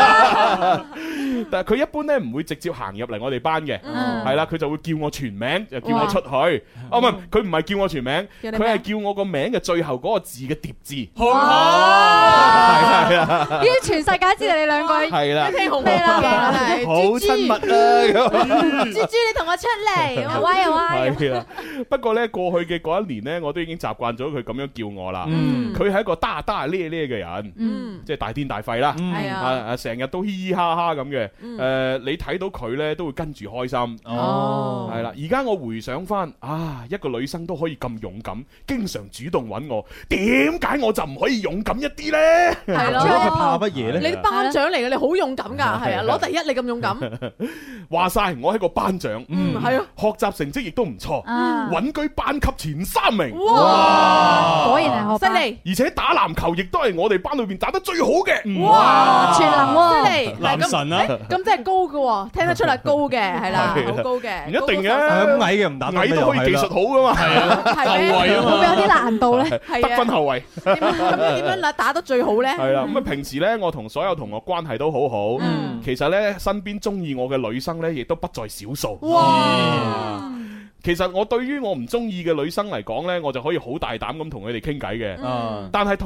但係佢一般咧唔會直接行入嚟我哋班嘅，係啦，佢就會叫我全名，就叫我出去。哦，唔係，佢唔係叫我全名，佢係叫我個名嘅最後嗰個字嘅疊字。係啊， 依啲全世界知道你兩個係啦， 聽紅咩啦， 好親密啊！ 豬豬，你同我出嚟，喂喂。 係啦，不過咧過去嘅嗰一年咧，我都已經習慣咗佢咁樣叫我啦。佢係一個大大咧咧嘅人，即係大癲大肺啦。係啊，成日都嘻嘻哈哈咁嘅。你睇到佢咧都會跟住開心。哦，係啦。而家我回想翻，一個女生都可以咁勇敢，經常主動揾我，點解我就唔可以勇敢一啲咧？ 係咯， 佢怕乜嘢咧？ 你班長嚟嘅，你好勇敢㗎，係啊，攞第一你咁勇敢。 話晒我係個班長， 係啊， 學習成績亦都唔錯，穩居班級前3名。 哇！果然係學犀利， 而且打籃球亦都係我哋班裏邊打得最好嘅。 哇！全能喎， 犀利， 男神啊！ 咁真係高嘅喎，聽得出嚟高嘅，係啦，好高嘅。 唔一定嘅， 咁矮嘅唔打， 矮都可以技術好噶嘛。係啊， 後衛啊嘛， 會唔會有啲難度咧？ 得分後衛。 點樣打得最好咧？係啦，咁啊平時咧，我同所有同學關係都好好。其實咧，身邊中意我嘅女生咧，亦都不在少數。哇！其實我對於我唔中意嘅女生嚟講咧，我就可以好大膽咁同佢哋傾偈嘅。但係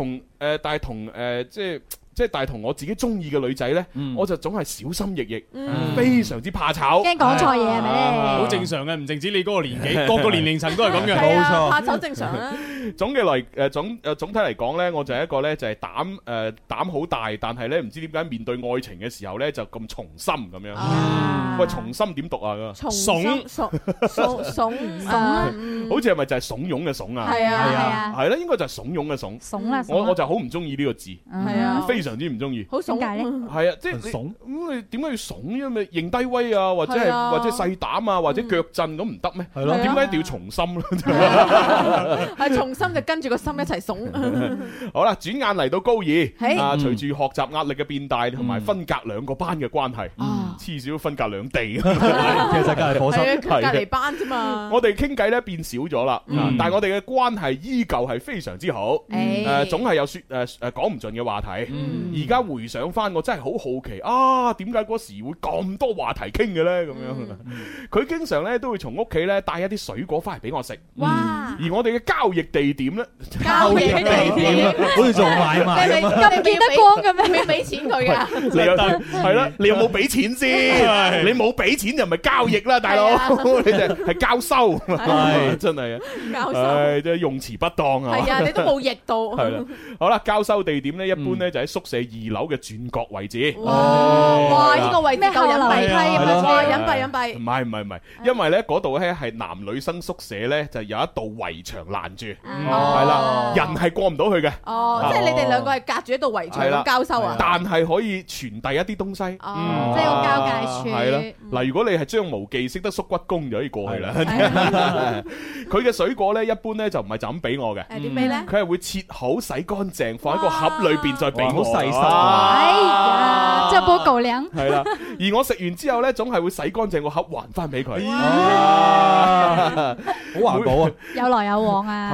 同我自己中意嘅女仔呢，我就總係小心翼翼，非常之怕醜， 驚講錯嘢係咪咧？ 好正常嘅，唔淨止你嗰個年紀，各個年齡層都係咁嘅， 冇錯。怕醜正常啦。 總體嚟講呢，我就係一個呢，就係膽好大，但係呢唔知點解面對愛情嘅時候呢，就咁從心咁樣。喂，從心點讀啊？ 慫， 好似係咪就係慫恿嘅慫啊？係啊，係啦，應該就係慫恿嘅慫。 慫啦， 我就好唔中意呢個字，係啊，非常之唔中意。 好慫解咧？ 係啊，即係慫咁你點解要慫？因為認低威啊，或者細膽啊，或者腳震咁唔得咩？係咯，點解一定要從心咧？ 係從心就跟住個心一齊慫。 好啦，轉眼嚟到高二，隨住學習壓力嘅變大，同埋分隔2個班嘅關係，黐少分隔2地，其實隔離課室， 隔離班啫嘛。 我哋傾偈咧變少咗啦，但係我哋嘅關係依舊係非常之好，總係有講唔盡嘅話題。而家回想翻，我真係好好奇啊，點解嗰時會咁多話題傾嘅咧？咁樣，佢經常咧都會從屋企咧帶一啲水果翻嚟俾我食。哇！而我哋嘅交易地點咧， 交易地點好似做買賣咁見得光嘅咩？ 要俾錢佢噶？ 你有係啦，你有冇俾錢先？你冇俾錢就唔係交易啦，大佬，你就係交收，係真係啊！交收，即係用詞不當啊！ 係啊，你都冇譯到。 係啦，好啦，交收地點咧，一般咧就喺宿舍2樓嘅轉角位置。 哇！呢個位置夠隱蔽，哇！隱蔽。 唔係，因為咧嗰度咧係男女生宿舍咧，就有一道圍牆攔住，係啦，人係過唔到去嘅。 哦，即係你哋2個係隔住一道圍牆咁交收啊？ 但係可以傳遞一啲東西。 即係個交界處。 係啦，嗱，如果你係張無忌識得縮骨功，就可以過去啦。佢嘅水果咧，一般咧就唔係就咁俾我嘅。 點俾咧？ 佢係會切好、洗乾淨，放喺個盒裏邊再俾我。 好細心。 哎呀，這波狗糧。 係啦，而我食完之後咧，總係會洗乾淨個盒還翻俾佢。 好環保啊！ 有來有往啊！ 係啦，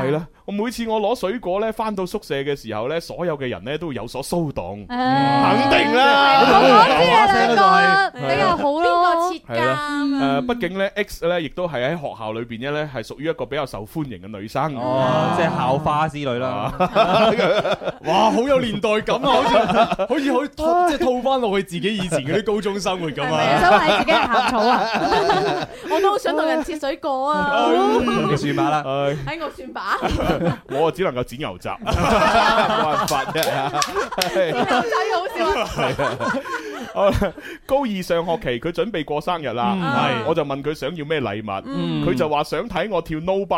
我每次我攞水果咧翻到宿舍嘅時候咧，所有嘅人咧都會有所騷動，肯定啦。 我知你兩個比較好咯。 邊個設監？ 畢竟咧 X 咧亦都係喺學校裏邊咧係屬於一個比較受歡迎嘅女生。 即係校花之類啦。 哇，好有年代感啊！好似可以即係套翻落去自己以前嗰啲高中生活咁啊！ 想話你自己係校草啊？ 我都好想同人切水果啊！ 你算吧啦， 喺我算把， 我只能夠剪牛雜，冇辦法啫。 牛仔好笑啊！ 高二上學期佢準備過生日啦，我就問佢想要咩禮物，佢就話想睇我跳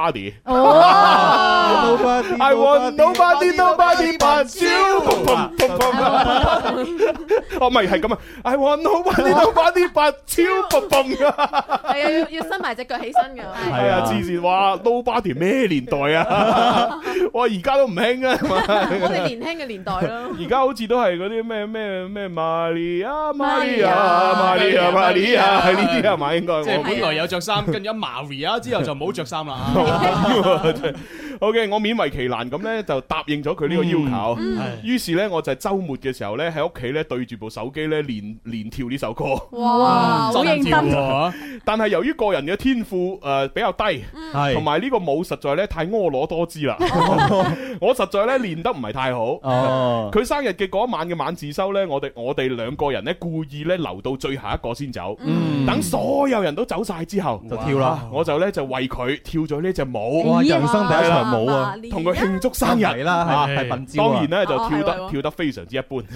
Nobody。I want nobody but you。哦，唔係係咁啊 ！I want nobody but you。係啊，要伸埋隻腳起身㗎。 係啊，之前話 Nobody 咩年代啊？我而家都唔興啊！ 我哋年輕嘅年代咯。 而家好似都係嗰啲咩Maria，係呢啲係嘛？應該即係本來有着衫，跟住一 Maria 之後就冇着衫啦。 OK， 我勉為其難咁咧就答應咗佢呢個要求。於是咧我就係週末嘅時候咧喺屋企咧對住部手機咧連跳呢首歌。 哇，好認真喎！但係由於個人嘅天賦比較低，同埋呢個舞實在咧太婀娜多姿啦，我實在咧練得唔係太好。佢生日嘅嗰晚嘅晚自修咧，我哋兩個人咧故意咧留到最後一個先走，等所有人都走晒之後就跳啦。 我就咧就為佢跳咗呢隻舞。 哇！人生第一場舞啊， 同佢慶祝生日啦，係笨招。 當然咧就跳得非常之一般。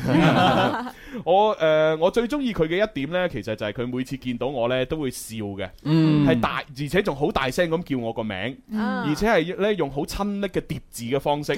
我最中意佢嘅一點咧，其實就係佢每次見到我咧都會笑嘅，係大而且仲好大聲咁叫我個名，而且係咧用好親昵嘅疊字嘅方式。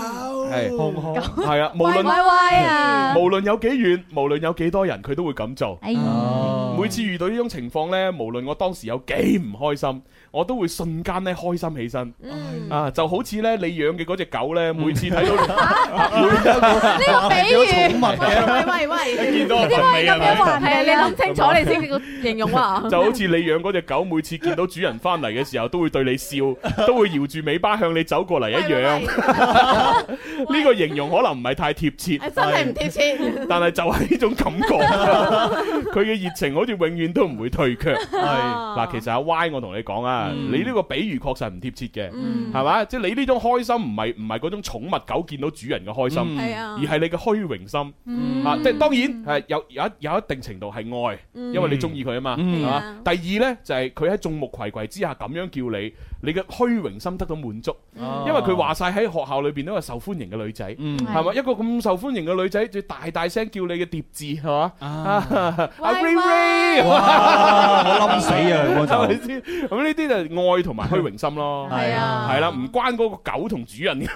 係啊，無論有幾遠，無論有幾多人，佢都會咁做。每次遇到呢種情況咧，無論我當時有幾唔開心，我都會瞬間咧開心起身。就好似咧你養嘅嗰隻狗咧，每次睇到呢個比喻， 喂，見到我份尾係咪？ 係啊，你諗清楚你先至形容啊！ 就好似你養嗰隻狗，每次見到主人翻嚟嘅時候，都會對你笑，都會搖住尾巴向你走過嚟一樣。呢個形容可能唔係太貼切， 真係唔貼切。 但係就係呢種感覺，佢嘅熱情好似永遠都唔會退卻。嗱，其實阿 Y 我同你講啊，你呢個比喻確實唔貼切嘅，係嘛？即係你呢種開心唔係嗰種寵物狗見到主人嘅開心，而係你嘅虛榮心。即係當然係有一定程度係愛，因為你中意佢啊嘛，係嘛？第二呢，就係佢喺眾目睽睽之下咁樣叫你嘅虛榮心得到滿足，因為佢話晒喺學校裏邊都係受歡迎嘅女仔，係嘛？一個咁受歡迎嘅女仔，最大聲叫你嘅疊字係嘛？阿 Ray， 我冧死啊！ 係咪先？咁呢啲就係愛同埋虛榮心咯，係啦，唔關嗰個狗同主人嘅。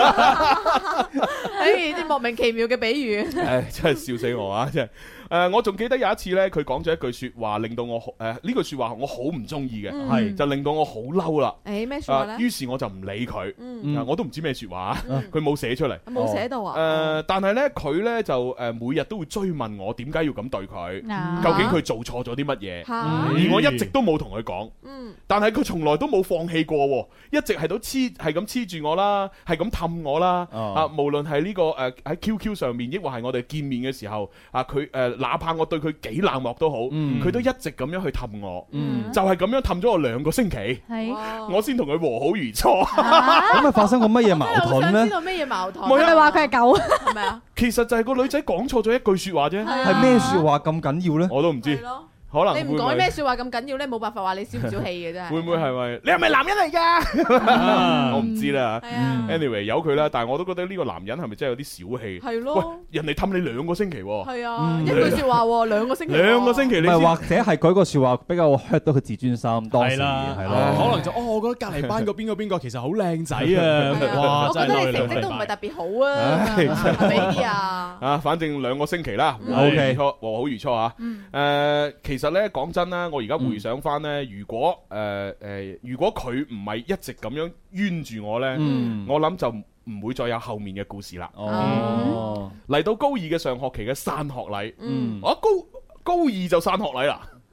啲莫名其妙嘅比喻， 真係笑死我啊！真係。我仲記得有一次咧，佢講咗一句説話，令到我呢句説話我好唔中意嘅，就令到我好嬲啦。 咩説話咧？ 於是我就唔理佢，我都唔知咩説話，佢冇寫出嚟。 冇寫到啊！ 但係咧，佢咧就每日都會追問我點解要咁對佢，究竟佢做錯咗啲乜嘢？而我一直都冇同佢講。但係佢從來都冇放棄過喎，一直係咁黐住我啦，係咁氹我啦。無論係呢個喺 QQ 上面，抑或係我哋見面嘅時候，佢哪怕我對佢幾冷漠都好，佢都一直咁樣去氹我，就係咁樣氹咗我2個星期，我先同佢和好如初。 咁咪發生過乜嘢矛盾咧？ 想知道咩嘢矛盾？ 你咪話佢係狗， 係咪啊？ 其實就係個女仔講錯咗一句説話啫， 係咩説話咁緊要咧？ 我都唔知。可能你唔講咩説話咁緊要咧，冇辦法話你小唔小氣嘅真係。 會唔會係咪？你係咪男人嚟㗎？我唔知啦。Anyway， 由佢啦。但係我都覺得呢個男人係咪真係有啲小氣？係咯。喂，人哋氹你2個星期喎。係啊， 一句説話喎，2個星期。 2個星期，你唔係或者係嗰個説話比較 hurt 到佢自尊心，當時係咯。 可能就我覺得隔離班個邊個其實好靚仔啊！哇， 我覺得你成績都唔係特別好啊，係咪啲啊？ 反正2個星期啦，和好如初啊。其實咧講真啦，我而家回想翻咧，如果佢唔係一直咁樣冤住我咧，我諗就唔會再有後面嘅故事啦。嚟到高2嘅上學期嘅散學禮，我高2就散學禮啦。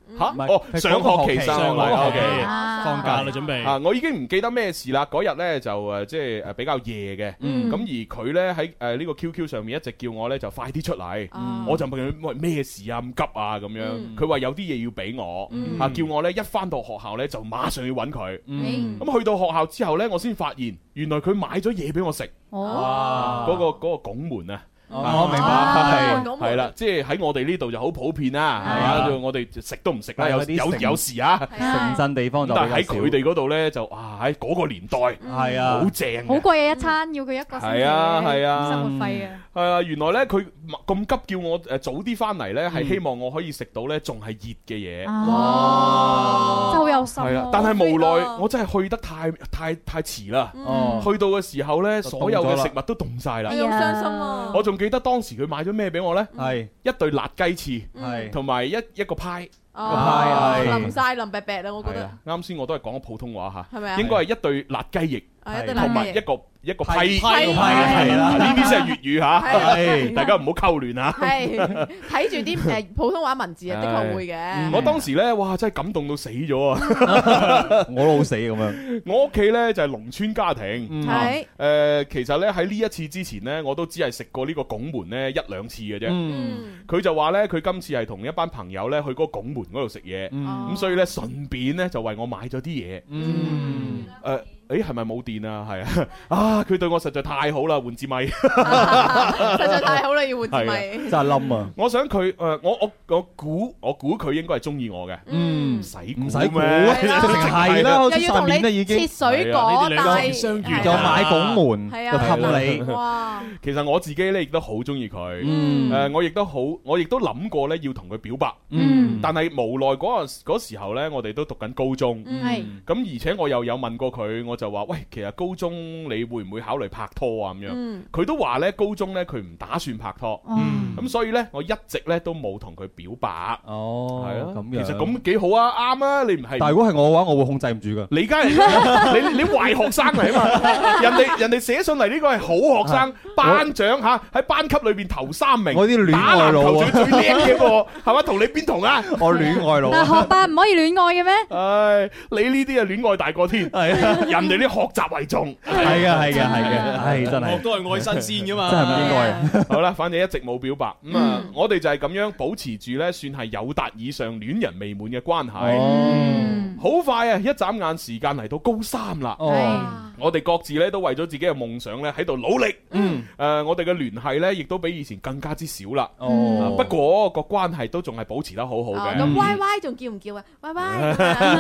嚇？哦，上學期生，OK， 放假啦，準備啊！我已經唔記得咩事啦。嗰日咧就即係比較夜嘅，咁而佢咧喺呢個 QQ 上面一直叫我咧就快啲出嚟，我就問佢喂咩事啊咁急啊咁樣，佢話有啲嘢要俾我，叫我咧一返到學校咧就馬上要揾佢。咁去到學校之後咧，我先發現原來佢買咗嘢俾我食。嗰個拱門啊！ 我明白， 係啦，即係喺我哋呢度就好普遍啦，係嘛？我哋食都唔食啦，有時啊， 城鎮地方就但係喺佢哋嗰度咧就喺嗰個年代係啊，好正， 好貴嘅一餐，要佢一個星期嘅生活費啊！ 係啊，原來咧佢咁急叫我早啲翻嚟咧，係希望我可以食到咧仲係熱嘅嘢。 哇！真係好有心。 係啊，但係無奈我真係去得太遲啦。去到嘅時候咧，所有嘅食物都凍晒啦。 好傷心啊！ 我仲記得當時佢買咗咩俾我咧？係一對辣雞翅， 係同埋一個派。 淋晒淋白白啦，我覺得。 啱先我都係講普通話嚇， 係咪啊？ 應該係一對辣雞翼，同埋一個批， 係啦， 呢啲先係粵語嚇，大家唔好溝亂嚇。 係睇住啲普通話文字啊，的確會嘅。 我當時咧，哇，真係感動到死咗啊！ 我都好死咁樣。 我屋企咧就係農村家庭， 係其實咧喺呢一次之前咧，我都只係食過呢個拱門咧1-2次嘅啫。佢就話咧，佢今次係同一班朋友咧去嗰個拱門嗰度食嘢，咁所以咧順便咧就為我買咗啲嘢。係咪冇電啊？係啊！佢對我實在太好啦，換支咪， 實在太好啦，要換支咪， 真係冧啊！ 我想佢我估佢應該係中意我嘅，唔使估咩？ 係啦， 又要同你切水果， 但相遇又買拱門，又氹你。 哇！ 其實我自己咧亦都好中意佢，我亦都諗過咧要同佢表白，但係無奈嗰時候咧，我哋都讀緊高中，咁而且我又有問過佢，我就話喂，其實高中你會唔會考慮拍拖啊？咁樣，佢都話咧高中咧佢唔打算拍拖，咁所以咧我一直咧都冇同佢表白。哦，係啊，咁樣其實咁幾好啊，啱啊，你唔係？ 但係如果係我嘅話，我會控制唔住噶。 你梗係你壞學生嚟啊嘛！人哋寫上嚟呢個係好學生，班長嚇喺班級裏邊頭3名， 我啲戀愛佬啊， 最叻嘅喎，係嘛？同你邊同啊？ 我戀愛佬。 但係學霸唔可以戀愛嘅咩？ 唉，你呢啲啊戀愛大過天，人哋啲學習為重。 係嘅，真係。 學都係愛新鮮噶嘛， 真係唔應該。 好啦，反正一直冇表白，咁啊，我哋就係咁樣保持住咧，算係友達以上戀人未滿嘅關係。好快啊！一眨眼時間嚟到高3啦。我哋各自咧都為咗自己嘅夢想咧喺度努力。我哋嘅聯繫咧亦都比以前更加之少啦。不過個關係都仲係保持得好好嘅。 咁 Y Y 仲叫唔叫啊？Y Y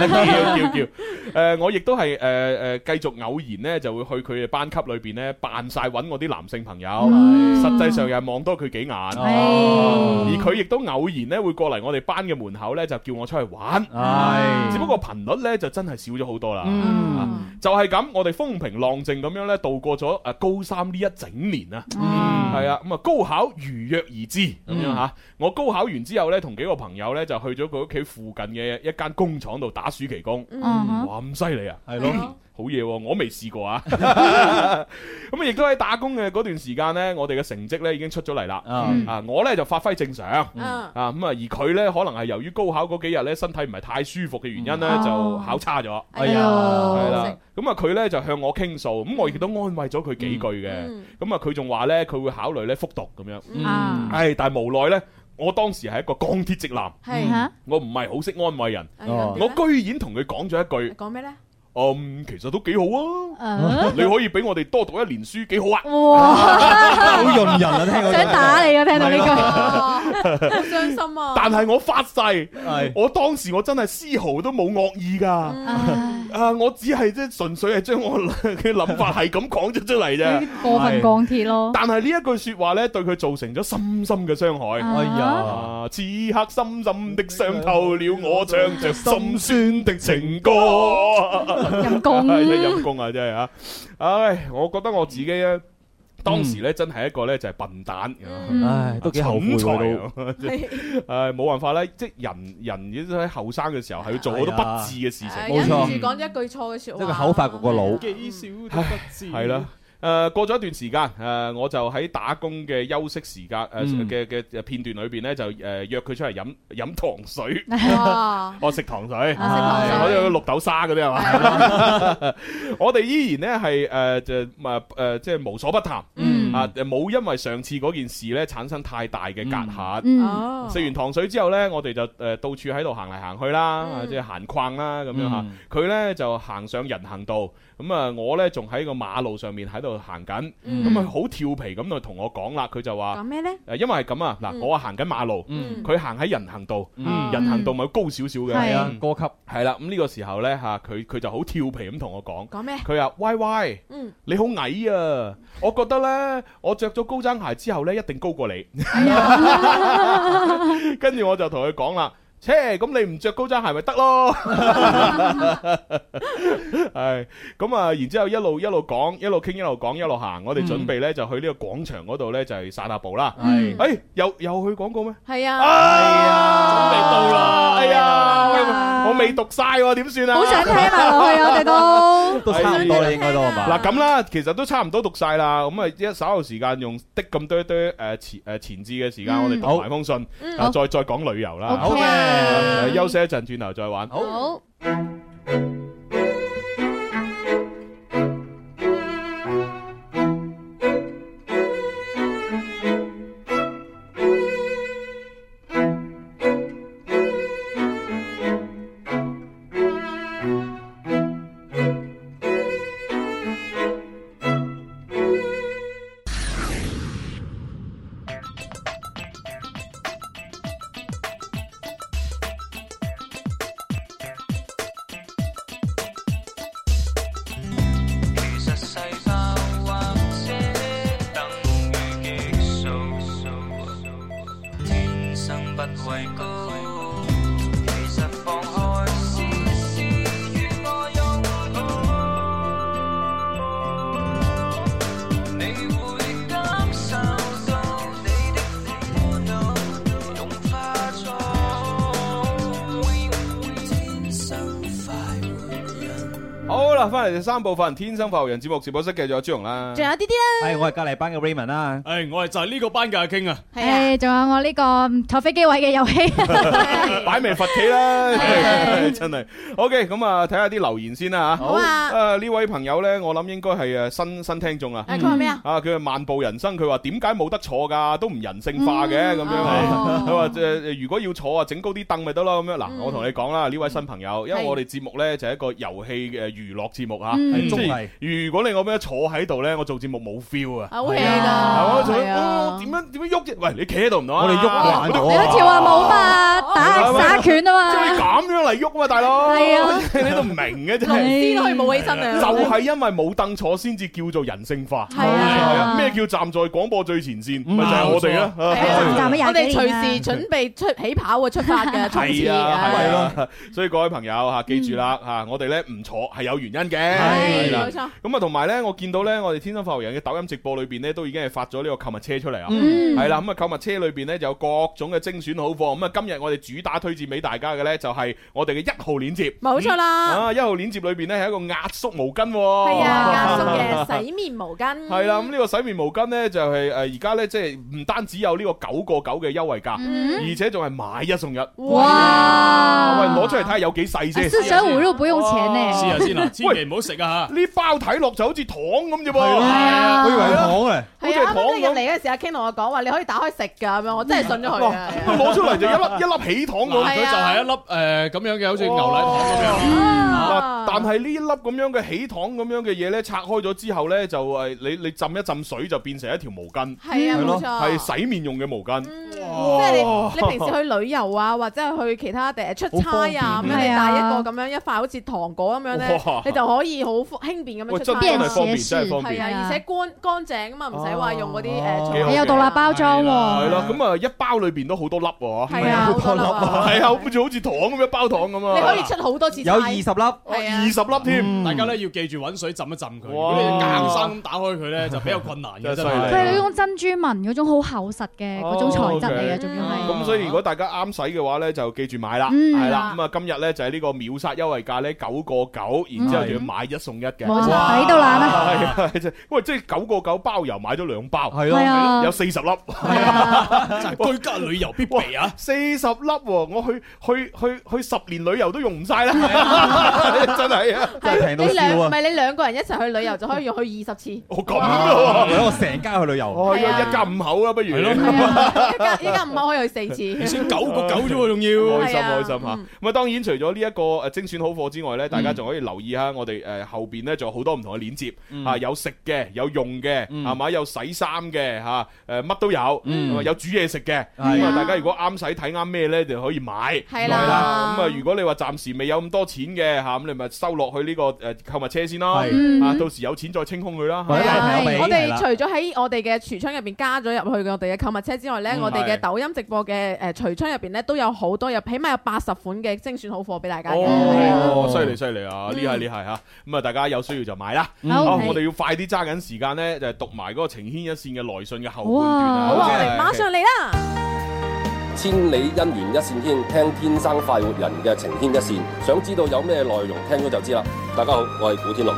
叫。我亦都係繼續偶然咧就會去佢哋班級裏邊咧扮晒揾我啲男性朋友，實際上又係望多佢幾眼。而佢亦都偶然咧會過嚟我哋班嘅門口咧就叫我出去玩。只不過頻率咧就真係少咗好多啦。就係咁，我哋風平浪靜咁樣咧度過咗高3呢一整年啊。係啊，咁啊高考如約而至咁樣嚇。我高考完之後咧，同幾個朋友咧就去咗佢屋企附近嘅一間工廠度打暑期工。哇，咁犀利啊！係咯，好嘢喎，我未試過啊。咁亦都喺打工嘅嗰段時間咧，我哋嘅成績咧已經出咗嚟啦。我咧就發揮正常。而佢咧可能係由於高考嗰幾日咧身體唔係太舒服嘅原因咧，就考差咗。係啦。咁佢咧就向我傾訴，咁我亦都安慰咗佢幾句嘅。咁佢仲話咧佢會考慮咧復讀咁樣。但係無奈咧，我當時係一個鋼鐵直男，我唔係好識安慰人。我居然同佢講咗一句， 講咩咧？ 其實都幾好啊！你可以俾我哋多讀1年書，幾好啊！ 哇， 好潤人啊！聽到想打你啊！聽到呢句， 好傷心啊！ 但係我發誓，我當時我真係絲毫都冇惡意噶。我只係即係純粹係將我嘅諗法係咁講咗出嚟啫。 過分鋼鐵咯。 但係呢一句說話咧，對佢造成咗深深嘅傷害。哎呀！此刻深深的傷透了我，唱着心酸的情歌。 陰公， 陰公啊！真係啊！唉，我覺得我自己咧，當時咧真係一個咧就係笨蛋， 唉，都幾後悔喎。 冇辦法咧，即係人喺後生嘅時候係要做好多不智嘅事情。 冇錯，講一句錯嘅說話， 即係口發個腦， 幾少都不智。 係啦。 過咗一段時間，我就喺打工嘅休息時間嘅片段裏邊咧，就約佢出嚟飲糖水。我食糖水，我有綠豆沙嗰啲係嘛？我哋依然咧係即係無所不談。冇因為上次嗰件事咧產生太大嘅隔閡。食完糖水之後咧，我哋就到處喺度行嚟行去啦，即係閒逛啦咁樣嚇。佢咧就行上人行道，咁啊我咧仲喺個馬路上面喺度行緊，咁啊好調皮咁就同我講啦，佢就話講咩咧？ 因為係咁啊，嗱我行緊馬路，佢行喺人行道，人行道咪高少少嘅， 係啊，高級係啦。咁呢個時候咧嚇，佢就好調皮咁同我講， 講咩？ 佢話喂，你好矮啊！我覺得咧，我着咗高踭鞋之後咧，一定高過你。跟住我就同佢講啦。咁你唔着高踭鞋咪得咯，係咁啊！然之後一路講，一路傾，一路講，一路行。我哋準備咧就去呢個廣場嗰度咧就係散下步啦。係，又去廣告咩？係啊，準備到啦！哎呀，我未讀晒喎，點算啊？好想聽埋落去，我哋都差唔多啦，應該都係嘛？ 嗱咁啦，其實都差唔多讀晒啦。咁啊，一稍後時間用的咁多前置嘅時間，我哋讀埋封信，再講旅遊啦。好嘅。休息一陣，轉頭再玩。好。翻嚟第三部分《天生快活人》節目直播室嘅仲有朱紅啦，仲有啲啲啦， 係我係隔離班嘅 Raymond 啦， 係我係就係呢個班嘅阿 King 啊， 係仲有我呢個坐飛機位嘅遊戲， 擺明罰企啦，真係。OK， 咁啊睇下啲留言先啦嚇。好啊，呢位朋友咧，我諗應該係新聽眾啊。佢話咩啊？佢話漫步人生，佢話點解冇得坐㗎？都唔人性化嘅咁樣。佢話如果要坐啊，整高啲凳咪得咯咁樣。嗱，我同你講啦，呢位新朋友，因為我哋節目咧就係一個遊戲嘅娛樂節目嚇，係綜藝。如果你我咁樣坐喺度咧，我做節目冇 feel 啊。好 hea 㗎，係啊。點樣喐啫？喂，你企喺度唔得啊？我哋喐慣咗。 你好似話冇嘛，打拳啊嘛。 即係咁樣嚟喐啊嘛，大佬。係啊，你都唔明嘅真係。 龍都可以冇起身啊。 就係因為冇凳坐先至叫做人性化。係啊。咩叫站在廣播最前線？咪就係我哋啦。 我哋隨時準備起跑嘅出發嘅。 係啊，係咯。所以各位朋友嚇，記住啦嚇，我哋咧唔坐係有原因嘅。係冇錯。咁啊，同埋咧，我見到咧，我哋天生快活人嘅抖音直播裏邊咧，都已經係發咗呢個購物車出嚟啊。係啦，咁啊，購物車裏邊咧就有各種嘅精選好貨。咁啊，今日我哋主打推薦俾大家嘅咧，就係我哋嘅1號鏈接。 冇錯啦。 1號鏈接裏邊咧係一個壓縮毛巾。 係啊，壓縮嘅洗面毛巾。 係啦，咁呢個洗面毛巾咧就係而家咧即係唔單止有呢個9.9嘅優惠價，而且仲係買1送1。哇！喂，攞出嚟睇下有幾細先。 四捨五入不用錢呢。 試下先啦，千祈唔好食啊嚇！ 呢包睇落就好似糖咁啫噃。 係啊， 我以為係糖嘅。 係啊，啱啱你入嚟嗰時，阿 King 同我講話，你可以打開食㗎咁樣，我真係信咗佢啊！ 攞出嚟就一粒起糖咁， 佢就係一粒咁樣嘅，好似牛奶糖咁樣。 但係呢一粒咁樣嘅起糖咁樣嘅嘢咧，拆開咗之後咧，就你浸一浸水就變成一條毛巾。係啊，冇錯，係洗面用嘅毛巾。即係你平時去旅遊啊，或者係去其他地出差啊，咁樣你帶一個咁樣一塊好似糖果咁樣咧，你就可以好輕便咁樣出差。真係方便，真係方便。係啊，而且乾淨啊嘛，唔使話用嗰啲你有獨立包裝喎。 係咯，咁啊一包裏邊都好多粒喎。 係啊，好多粒啊。 係啊，好似糖咁樣包糖咁啊。 你可以出好多次差。 有20粒。 20粒添， 大家咧要記住揾水浸一浸佢。如果你硬生咁打開佢咧，就比較困難嘅。真係佢係嗰種珍珠紋嗰種好厚實嘅嗰種材質嚟嘅，仲要係。 咁所以如果大家啱使嘅話咧，就記住買啦，係啦。咁啊，今日咧就係呢個秒殺優惠價咧9個9，然之後仲要買1送1嘅， 冇錯，抵到爛啊！ 係啊，喂，即係9個9包郵買咗2包， 係咯， 有40粒， 真係居家旅遊必備啊 ！40粒喎，我去10年旅遊都用唔晒啦，真係啊！ 真係平到笑啊！ 唔係你2個人一齊去旅遊就可以用去20次。 哦咁啊！ 我成家去旅遊， 一家5口啊，不如一家5口可以去4次。 先9個9啫喎，仲要開心嚇。咁啊，當然除咗呢一個精選好貨之外咧，大家仲可以留意下我哋後邊咧，仲有好多唔同嘅鏈接嚇，有食嘅，有用嘅，係嘛？有洗衫嘅嚇，乜都有，有煮嘢食嘅。咁啊，大家如果啱使睇啱咩咧，就可以買。係啦。咁啊，如果你話暫時未有咁多錢嘅嚇，咁你咪收落去呢個購物車先咯。到時有錢再清空佢啦。 我哋除咗喺我哋嘅櫥窗入邊加咗入去我哋嘅購物車之外咧，我哋嘅抖音直播嘅櫥窗入邊咧都有好多，起碼有80款嘅精選好貨俾大家嘅。 哦，犀利犀利啊！厲害嚇。咁啊，大家有需要就買啦。好，我哋要快啲揸緊時間咧，就係讀埋嗰個情牽一線嘅來信嘅後半段啊！ 好，我哋馬上嚟啦！ 千里姻緣一線牽，聽天生快活人嘅情牽一線，想知道有咩內容，聽咗就知啦。大家好，我係古天樂。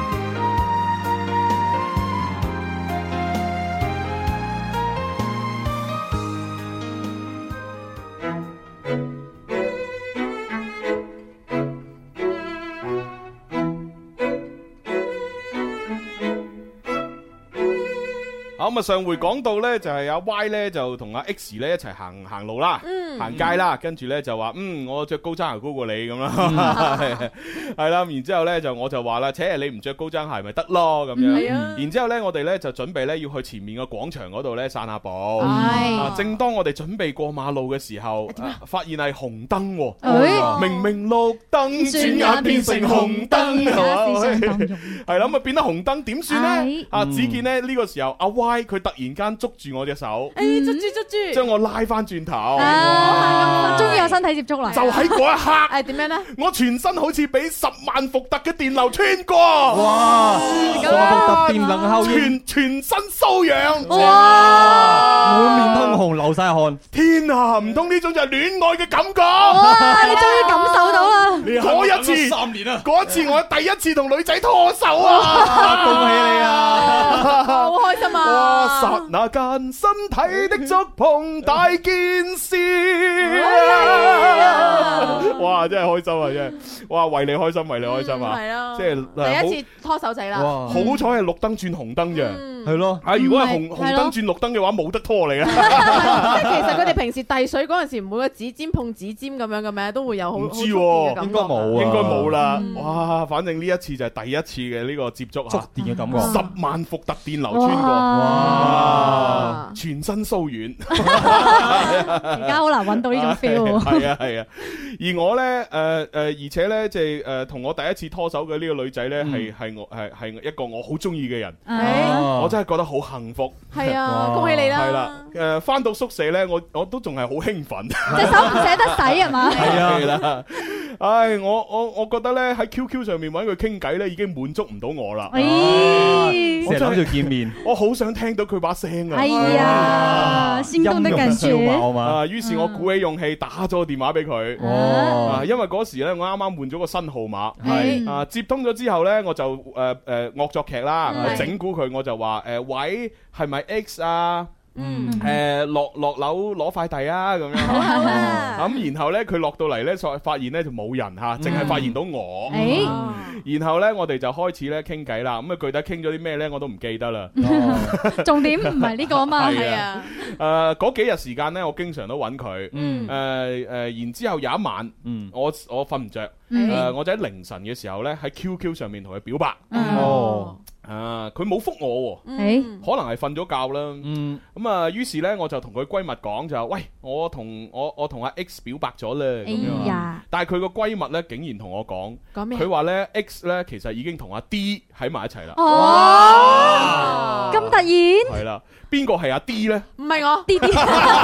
咁啊，上回講到咧，就係阿 Y 咧就同阿 X 咧一齊行路啦，行街啦，跟住咧就話我着高踭鞋高過你咁啦，係啦，然之後咧我就話啦，你唔着高踭鞋咪得咯咁樣，然之後咧我哋咧就準備咧要去前面個廣場嗰度咧散下步，正當我哋準備過馬路嘅時候，發現係紅燈，明明綠燈，轉眼變成紅燈，係啦，咁啊變得紅燈點算咧？只見咧呢個時候阿 Y 佢突然間捉住我隻手， 捉住， 將我拉翻轉頭， 終於有身體接觸啦！ 就喺嗰一刻， 點樣咧？ 我全身好似俾10萬伏特嘅電流穿過， 哇！伏特電能效應， 全身瘙癢， 哇！滿面通紅，流晒汗。 天啊！唔通呢種就係戀愛嘅感覺？ 哇！你終於感受到啦！ 嗰一次3年啊！嗰一次我第一次同女仔拖手啊！ 恭喜你啊！ 好開心啊！ 哇！剎那間身體的觸碰大件事，哇！真係開心啊！真係，哇！為你開心，為你開心啊！ 係咯， 即係第一次拖手仔啦。 好彩係綠燈轉紅燈啫， 係咯。 如果係紅燈轉綠燈嘅話，冇得拖你啊！ 即係其實佢哋平時遞水嗰陣時，唔會個指尖碰指尖咁樣嘅咩，都會有好唔知喎， 應該冇， 應該冇啦。哇！反正呢一次就係第一次嘅呢個接觸觸電嘅感覺 ，10萬伏特電流穿過，哇！全身瘙軟， 而家好難揾到呢種 feel。 係啊係啊，而我咧而且咧即係同我第一次拖手嘅呢個女仔咧係一個我好中意嘅人，我真係覺得好幸福。 係啊，恭喜你啦！ 係啦，翻到宿舍咧，我都仲係好興奮， 隻手唔捨得洗係嘛？ 係啦，唉，我覺得咧喺 QQ 上面揾佢傾偈咧，已經滿足唔到我啦。 成日諗住見面， 我好想聽到佢把聲啊！ 哎呀，心動的感覺啊！於是我鼓起勇氣打咗個電話俾佢。因為嗰時咧我啱啱換咗個新號碼，接通咗之後咧，我就惡作劇啦，整蠱佢，我就話喂，係咪 X 啊？落樓攞快遞啊咁樣，咁然後咧佢落到嚟咧，發現咧就冇人吓，淨係發現到我。然後咧我哋就開始咧傾偈啦，咁啊具體傾咗啲咩咧我都唔記得啦。 重點唔係呢個啊嘛。 係啊，嗰幾日時間咧，我經常都揾佢。然之後有一晚，我瞓唔着，我就喺凌晨嘅時候咧喺 QQ 上面同佢表白。 佢冇覆我喎，可能係瞓咗覺啦。咁啊，於是咧我就同佢閨蜜講就喂，我同阿 X 表白咗咧咁樣。但係佢個閨蜜咧竟然同我講，佢話咧 X 咧其實已經同阿 D 喺埋一齊啦。 哦，咁突然？ 係啦，邊個係阿 D 咧？ 唔係我 ，D D， 好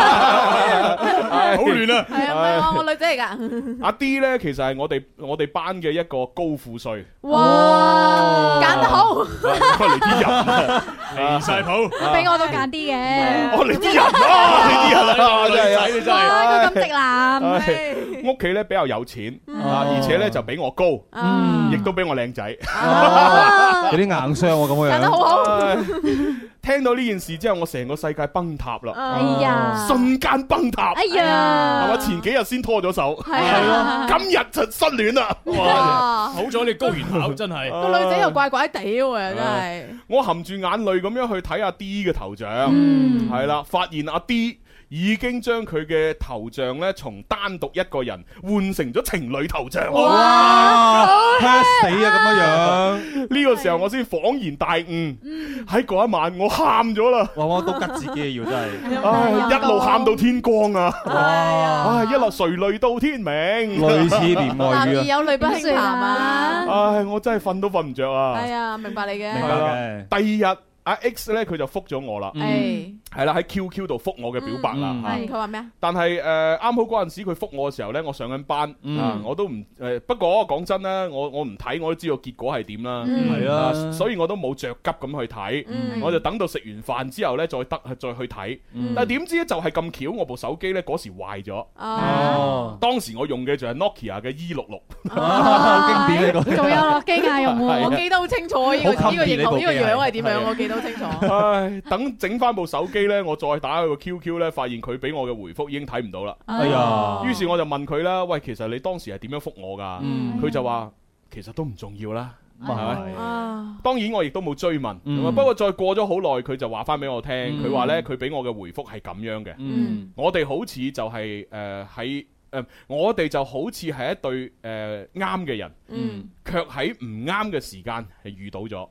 亂啊！ 係啊，我女仔嚟㗎。 阿 D 咧其實係我哋班嘅一個高富帥。 哇，揀得好！ 嚟啲人離晒譜， 俾我都揀啲嘅。 我嚟啲人啊，你啲人啊，真係你真係。佢咁直男。 屋企咧比較有錢而且咧就比我高，亦都比我靚仔， 有啲硬傷喎咁樣。 揀得好好。 聽到呢件事之後，我成個世界崩塌啦！ 哎呀， 瞬間崩塌！ 哎呀， 係嘛？前幾日先拖咗手， 係咯， 今日就失戀啦！ 哇！好彩你高原考真係個女仔又怪怪地喎，真係。 我含住眼淚咁樣去睇阿 D 嘅頭像，係啦，發現阿 D 已經將佢嘅頭像咧從單獨一個人換成咗情侶頭像。 哇！嚇死啊咁樣！ 呢個時候我先恍然大悟，喺嗰一晚我喊咗啦。 哇！都吉自己要真係， 一路喊到天光啊！ 哇！ 一路垂淚到天明， 類似戀愛語啊！ 男兒有淚不輕彈啊！ 唉，我真係瞓都瞓唔着啊！ 係啊，明白你嘅。 明白嘅。 第二日。阿 X 咧佢就覆咗我啦，係啦喺 QQ 度覆我嘅表白啦。 係佢話咩啊？ 但係啱好嗰陣時佢覆我嘅時候咧，我上緊班我都唔不過講真啦，我唔睇我都知道結果係點啦，係啊，所以我都冇着急咁去睇，我就等到食完飯之後咧再去睇。但係點知咧就係咁巧，我部手機咧嗰時壞咗。當時我用嘅就係 Nokia 嘅 E66， 好經典呢個。 仲有諾基亞用喎， 我記得好清楚呢個型號呢個樣係點樣，我記得。清楚。 唉，等整翻部手機呢，我再打佢個 QQ 呢，發現佢俾我嘅回覆已經睇唔到啦。 哎呀！ 於是我就問佢啦，喂，其實你當時係點樣覆我噶？佢就話其實都唔重要啦，係咪？當然我亦都冇追問。不過再過咗好耐，佢就話翻俾我聽，佢話呢，佢俾我嘅回覆係咁樣嘅。我哋好似就係喺我哋就好似係一對啱嘅人，卻喺唔啱嘅時間係遇到咗。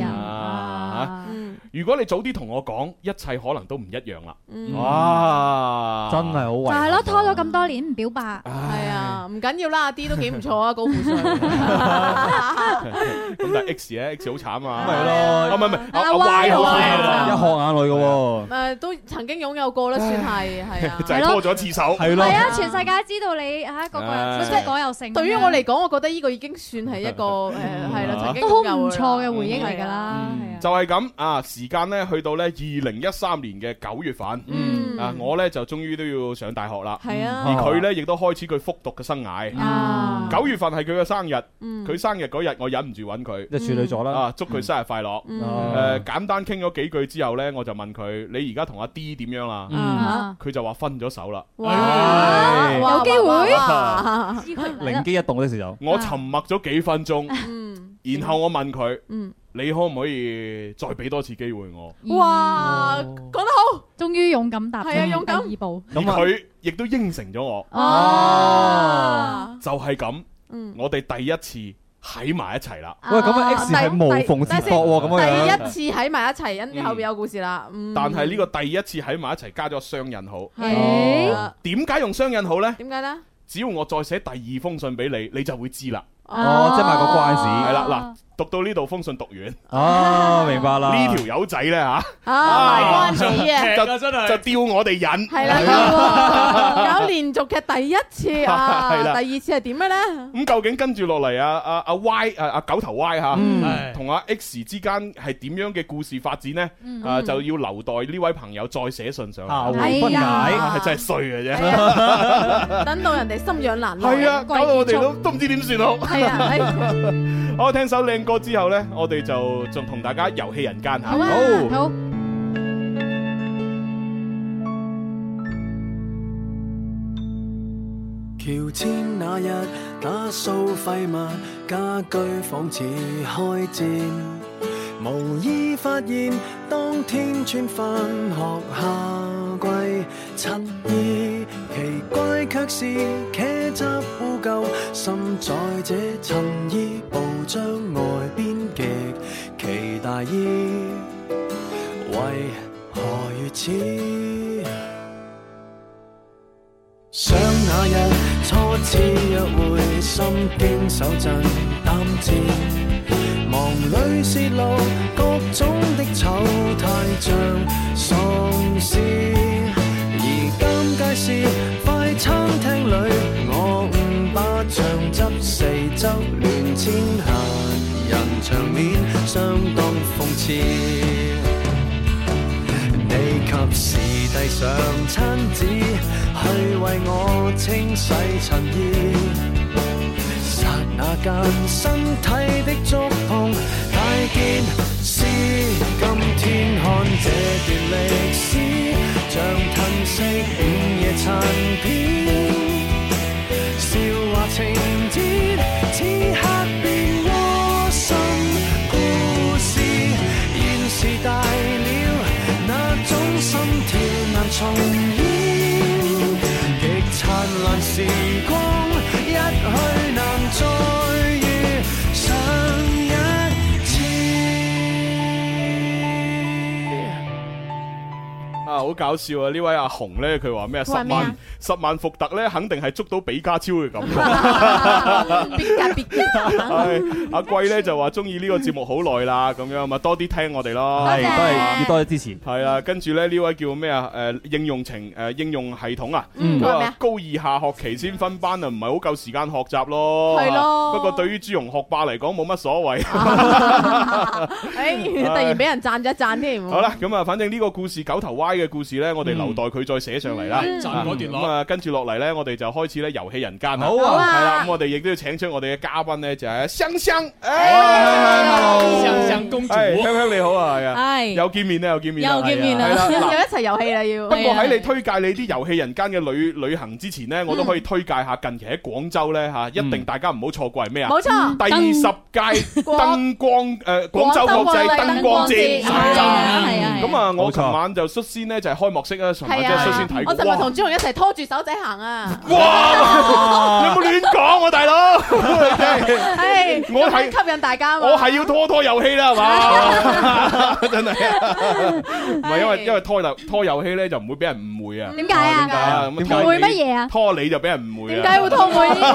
如果你早啲同我講，一切可能都唔一樣啦。哇！ 真係好遺憾。 就係咯，拖咗咁多年唔表白。 係啊，唔緊要啦，阿 D 都幾唔錯啊，高富帥。 咁但係 X 咧 ，X 好慘啊。 咪咯， 唔係阿 Y 好慘， 一殼眼淚嘅喎。 都曾經擁有過啦，算係啊。 就係拖咗一次手。 係咯。 係啊，全世界知道你個個即係果有性。 對於我嚟講，我覺得呢個已經算係一個係啦，曾經都好唔錯嘅回憶嚟㗎啦。 就係咁啊！時間咧去到咧2013年嘅9月份，我咧就終於都要上大學啦。 係啊， 而佢咧亦都開始佢復讀嘅生涯。9月份係佢嘅生日，佢生日嗰日我忍唔住揾佢， 即係處女座啦。 祝佢生日快樂。簡單傾咗幾句之後咧，我就問佢：你而家同阿 D 點樣啦？佢就話分咗手啦。 有機會， 靈機一動嘅時候， 我沉默咗幾分鐘，然後我問佢：你可唔可以再俾多次機會我？ 哇，講得好， 終於勇敢踏出第勇敢二步。 而佢亦都應承咗我。就係咁，我哋第一次喺埋一齊啦。 喂，咁啊 X 係無縫接駁喎，咁樣。 第一次喺埋一齊，跟住後邊有故事啦。 但係呢個第一次喺埋一齊加咗雙引號。點解用雙引號呢？ 點解呢？ 只要我再寫第二封信俾你，你就會知啦。 即係賣個關子。 係啦，嗱。讀到呢度封信讀完， 明白啦。 呢條友仔咧嚇， 賣關子嘅， 就吊我哋癮。 係啦，搞連續劇第一次啊，第二次係點嘅咧？ 咁究竟跟住落嚟阿 Y 阿九頭 Y 嚇，同阿 X 之間係點樣嘅故事發展呢？就要留待呢位朋友再寫信上嚟。 下回分解， 係真係衰嘅啫。 等到人哋心癢難耐， 係啊，搞到我哋都唔知點算好。係啊，好，聽首靚歌之後呢，我哋就仲同大家遊戲人間吓。 好。 喬遷那日打掃廢物，家居仿似開戰，無意發現當天穿返學夏季襯衣，奇怪卻是茄汁污垢滲在這襯衣布，將外邊極期待懷疑，為何如此？想那日初次約會，心驚手震膽戰，忙裏泄露各種的醜態像喪屍。而尷尬是快餐廳裏，我誤把醬汁四周亂濺，閒人場面相當諷刺。你及時遞上餐紙，去為我清洗襯衣。剎那間身體的觸碰，大件事。今天看這段歷史，像褪色午夜殘片。笑話情節，此刻變窩心故事。現時大了，那種心跳難重演，極燦爛時光一去難再遇上一次。 啊，好搞笑啊！呢位阿紅咧，佢話咩？10萬伏特咧，肯定係捉到比家超嘅感覺。阿貴咧就話中意呢個節目好耐啦，咁樣咪多啲聽我哋咯。 係，都係要多啲支持。 係啊，跟住咧呢位叫咩啊？應用系統啊，佢話高二下學期先分班啊，唔係好夠時間學習咯。係咯。不過對於朱容學霸嚟講冇乜所謂。 突然俾人讚咗一讚添。 好啦，咁啊，反正呢個故事九頭歪嘅故事咧，我哋留待佢再寫上嚟啦。 讚嗰段落。 跟住落嚟咧，我哋就開始咧遊戲人間啦。 好啊， 係啦，咁我哋亦都要請出我哋嘅嘉賓咧，就係香香。 香香公主， 香香你好啊，係啊， 係又見面啦，又見面啦，又一齊遊戲啦要。 不過喺你推介你啲遊戲人間嘅旅行之前咧，我都可以推介下近期喺廣州咧嚇，一定大家唔好錯過係咩啊？ 冇錯， 第10屆燈光廣州國際燈光節。咁啊，我琴晚就率先咧就係開幕式啊，尋晚即係率先睇過。 我尋日同朱紅一齊拖住手仔行啊！ 哇！你有冇亂講啊，大佬？ 我係吸引大家， 我係要拖遊戲啦，係嘛？真係唔係因為拖遊戲咧就唔會俾人誤會啊？ 點解啊？誤會乜嘢啊？ 拖你就俾人誤會啊？ 點解會拖會呢？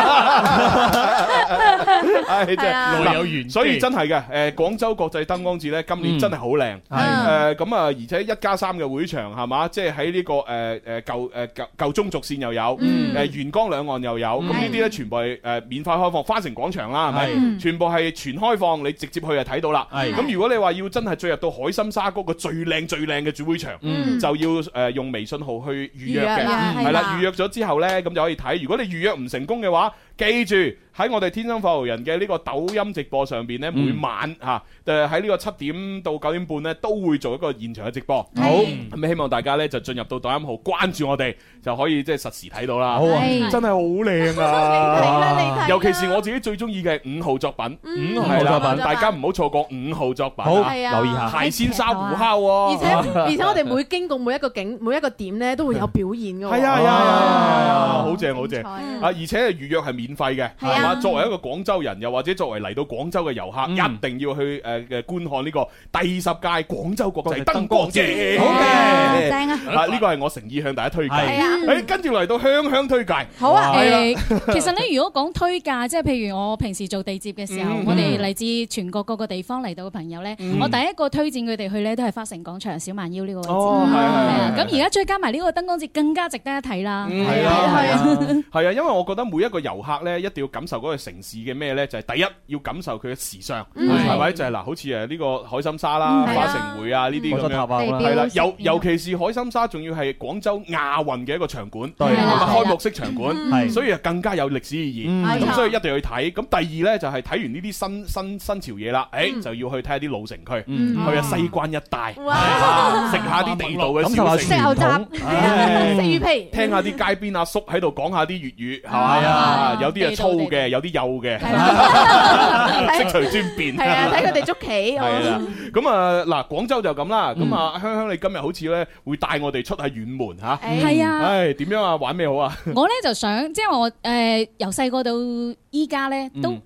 真係內有緣，所以真係嘅。廣州國際燈光節咧，今年真係好靚。咁啊，而且1+3嘅會場係嘛，即係喺呢個舊中軸線又有，沿江兩岸又有，咁呢啲咧全部係免費開放，花城廣場啦，係咪？全部係全開放，你直接去就睇到啦。咁如果你話要真係進入到海心沙嗰個最靚嘅主會場，就要用微信號去預約嘅，係啦，預約咗之後咧，咁就可以睇。如果你預約唔成功嘅話，記住喺我哋天生發育人嘅呢個抖音直播上邊咧，每晚嚇喺呢個7點到9點半咧，都會做一個現場嘅直播。好，咁希望大家咧就進入到抖音號關注我哋，就可以即係實時睇到啦。好啊，真係好靚啊！尤其是我自己最中意嘅5號作品，5號作品，大家唔好錯過5號作品。 好，留意下蟹鮮沙胡烤喎。 而且我哋每經過每一個景、每一個點咧，都會有表演㗎。 係啊，好正好正啊！而且預約係免費嘅，係嘛？作為一個廣州人，又或者作為嚟到廣州嘅遊客，一定要去觀看呢個第10屆廣州國際燈光節。好嘅， 正啊！ 呢個係我誠意向大家推介。跟住嚟到香香推介。 好啊，其實咧，如果講推介，即係譬如我平時做地接嘅時候，我哋嚟自全國各個地方嚟到嘅朋友咧，我第一個推薦佢哋去咧，都係花城廣場小蠻腰呢個位置。咁而家再加埋呢個燈光節，更加值得一睇啦。 係啊，因為我覺得每一個遊客咧，一定要感受嗰個城市嘅咩咧，就係第一要感受佢嘅時尚，係咪？就係嗱，好似呢個海心沙啦、花城匯啊呢啲咁樣，係啦，尤其是海心沙，仲要係廣州亞運嘅一個場館，開幕式場館，所以更加有歷史意義。咁所以一定要去睇。咁第二咧就係睇完呢啲新潮嘢啦，就要去睇下啲老城區，去下西關一帶，食下啲地道嘅小食， 食牛雜，食魚皮， 聽下啲街邊阿叔喺度講下啲粵語，係嘛？有啲係粗嘅，有啲幼嘅，識隨尊便。 係啊，睇佢哋捉棋。 係啦，咁啊嗱，廣州就咁啦。咁啊，香香你今日好似咧會帶我哋出下遠門嚇。 係啊。 唉，點樣啊？玩咩好啊？ 我咧就想，即係我由細個到依家咧都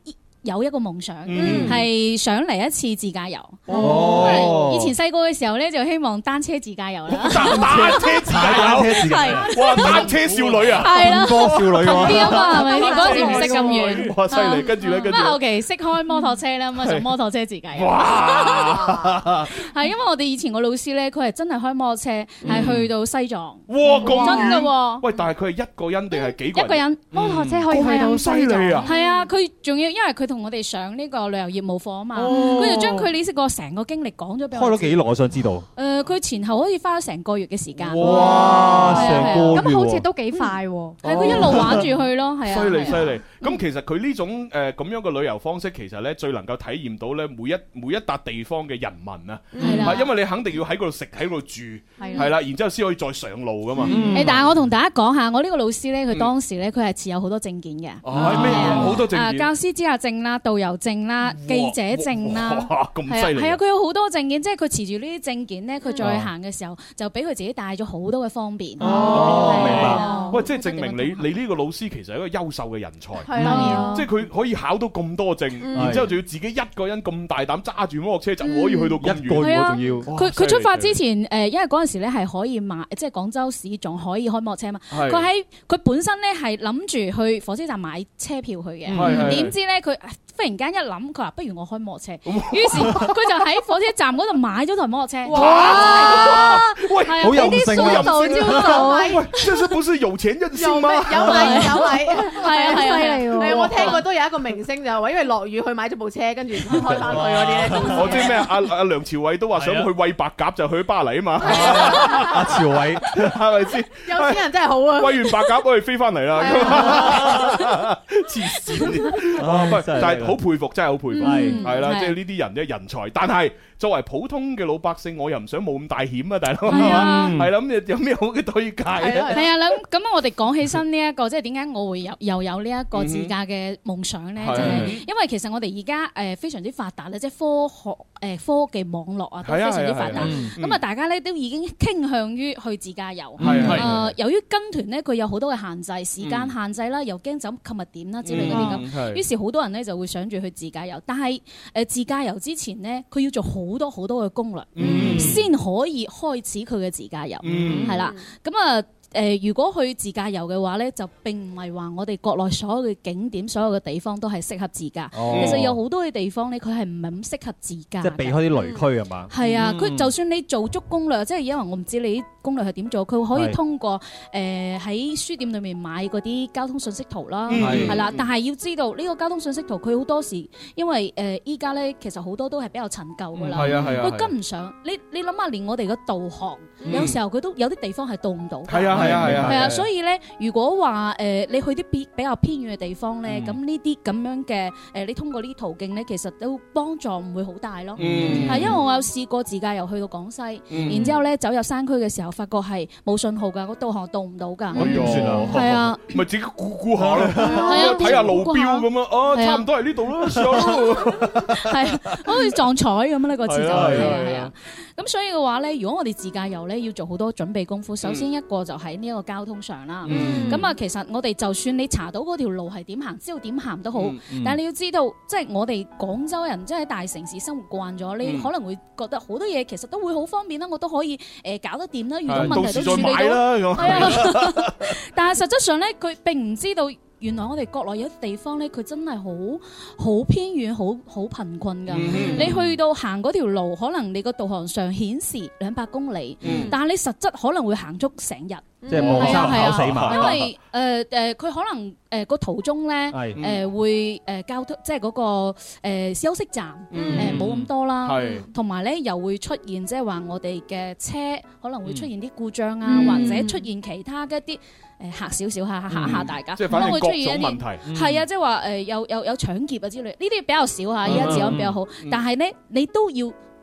有一個夢想， 嗯係想嚟一次自駕遊。 哦以前細個嘅時候咧，就希望單車自駕遊啦。 單車自駕遊，哇！單車少女啊， 係啦， 多少女近啲啊嘛，係咪先？嗰陣時唔識咁遠。 哇！犀利，跟住咧，跟住咁啊，後期識開摩托車啦，咁啊上摩托車自駕遊。 哇！ 係因為我哋以前個老師咧，佢係真係開摩托車，係去到西藏。 哇！咁真㗎喎！ 喂，但係佢係一個人定係幾個人？ 一個人摩托車可以去到犀利啊！ 係啊，佢仲要因為佢同我哋上呢個旅遊業務課啊嘛， 哦佢就將佢呢個成個經歷講咗俾我。 開咗幾耐？我想知道。 佢前後好似花咗成個月嘅時間。 哇！成個月咁好似都幾快喎。 係佢一路玩住去咯，係啊。 犀利犀利！咁其實佢呢種咁樣嘅旅遊方式，其實咧最能夠體驗到咧每一笪地方嘅人民啊，係因為你肯定要喺嗰度食喺嗰度住，係啦，然之後先可以再上路噶嘛。 但係我同大家講下，我呢個老師咧，佢當時咧佢係持有好多證件嘅。 咩好多證件？ 教師資格證啦、導遊證啦、記者證啦。 哇！咁犀利。 係啊，佢有好多證件，即係佢持住呢啲證件咧，佢再行嘅時候就俾佢自己帶咗好多嘅方便。 哦，明白。喂，即係證明你呢個老師其實係一個優秀嘅人才。 係啊， 即係佢可以考到咁多證，然之後仲要自己一個人咁大膽揸住摩托車就可以去到咁遠， 仲要。 佢出發之前因為嗰陣時咧係可以買，即係廣州市仲可以開摩托車嘛。佢本身咧係諗住去火車站買車票去嘅，點知咧佢忽然間一諗，佢話不如我開摩托車，於是佢就喺火車站嗰度買咗台摩托車。 哇！喂， 好任性啊！ 喂，這是不是有錢任性嗎？ 有米， 係啊， 犀利喎！我聽過都有一個明星就係話，因為落雨去買咗部車，跟住開翻去嗰啲咧。 我知咩？阿梁朝偉都話想去餵白鴿就去巴黎啊嘛。 阿朝偉係咪先？ 有錢人真係好啊！ 餵完白鴿我哋飛翻嚟啦。黐線，但係好佩服，真係好佩服。係啦，即係呢啲人咧人才，但係作為普通嘅老百姓，我又唔想冒咁大險啊，大佬。係啦，咁有咩好嘅推介咧？ 係啊，咁我哋講起身呢一個，即係點解我會又有呢一個自駕嘅夢想咧？就係因為其實我哋而家非常之發達咧，即係科技網絡啊都非常之發達。咁啊，大家咧都已經傾向於去自駕遊。由於跟團咧，佢有好多嘅限制，時間限制啦，又驚走購物點啦之類嗰啲咁。於是好多人咧就會想住去自駕遊，但係自駕遊之前咧，佢要做好多好多嘅攻略，先可以開始佢嘅自駕遊。係啦，咁啊。如果去自駕遊嘅話咧，就並唔係話我哋國內所有嘅景點、所有嘅地方都係適合自駕。其實有好多嘅地方咧，佢係唔係咁適合自駕。 即係避開啲雷區係嘛？ 係啊，佢就算你做足攻略，即係因為我唔知你啲攻略係點做，佢可以通過喺書店裏面買嗰啲交通信息圖啦，係啦。但係要知道呢個交通信息圖，佢好多時因為依家咧其實好多都係比較陳舊㗎啦，佢跟唔上。你諗下，連我哋嘅導航有時候佢都有啲地方係導唔到。係啊，所以咧，如果話你去啲比較偏遠嘅地方咧，咁呢啲咁樣嘅你通過呢啲途徑咧，其實都幫助唔會好大咯。係因為我有試過自駕遊去到廣西，然之後咧走入山區嘅時候，發覺係冇信號㗎，個導航導唔到㗎。 點算啊？係啊，咪自己估下咯，睇下路標咁樣，哦，差唔多係呢度咯， 係好似撞彩咁呢個字就係啊。咁所以嘅話咧，如果我哋自駕遊咧，要做好多準備功夫。首先一個就喺呢一個交通上啦。咁啊，其實我哋就算你查到嗰條路係點行，知道點行都好，但係你要知道，即係我哋廣州人即係喺大城市生活慣咗，你可能會覺得好多嘢其實都會好方便啦，我都可以搞得掂啦，遇到問題都處理到。係啊，但係實質上咧，佢並唔知道。原來我哋國內有啲地方咧，佢真係好偏遠、好貧困㗎。你去到行嗰條路，可能你個導航上顯示200公里，但係你實質可能會行足成日。 即係冇三跑死馬。 因為佢可能個途中咧會交通，即係嗰個休息站冇咁多啦，同埋咧又會出現即係話我哋嘅車可能會出現啲故障啊，或者出現其他嘅一啲。嚇少少嚇大家， 即係反正各種問題。 係啊，即係話有搶劫啊之類，呢啲比較少嚇，依家治安比較好。但係咧，你都要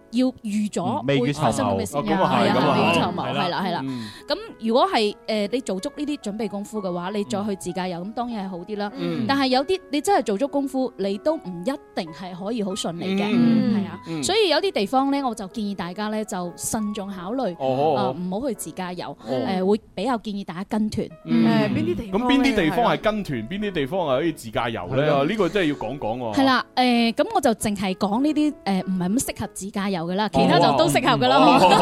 要預咗會發生咁嘅事， 咁啊係， 未雨綢繆，係啦。咁如果係你做足呢啲準備功夫嘅話，你再去自駕遊咁當然係好啲啦。但係有啲你真係做足功夫，你都唔一定係可以好順利嘅，係啊。所以有啲地方咧，我就建議大家咧就慎重考慮，唔好去自駕遊，會比較建議大家跟團。 邊啲地方？ 咁邊啲地方係跟團，邊啲地方係可以自駕遊咧？呢個真係要講講喎。 係啦，咁我就淨係講呢啲唔係咁適合自駕遊嘅啦，其他就都適合噶啦。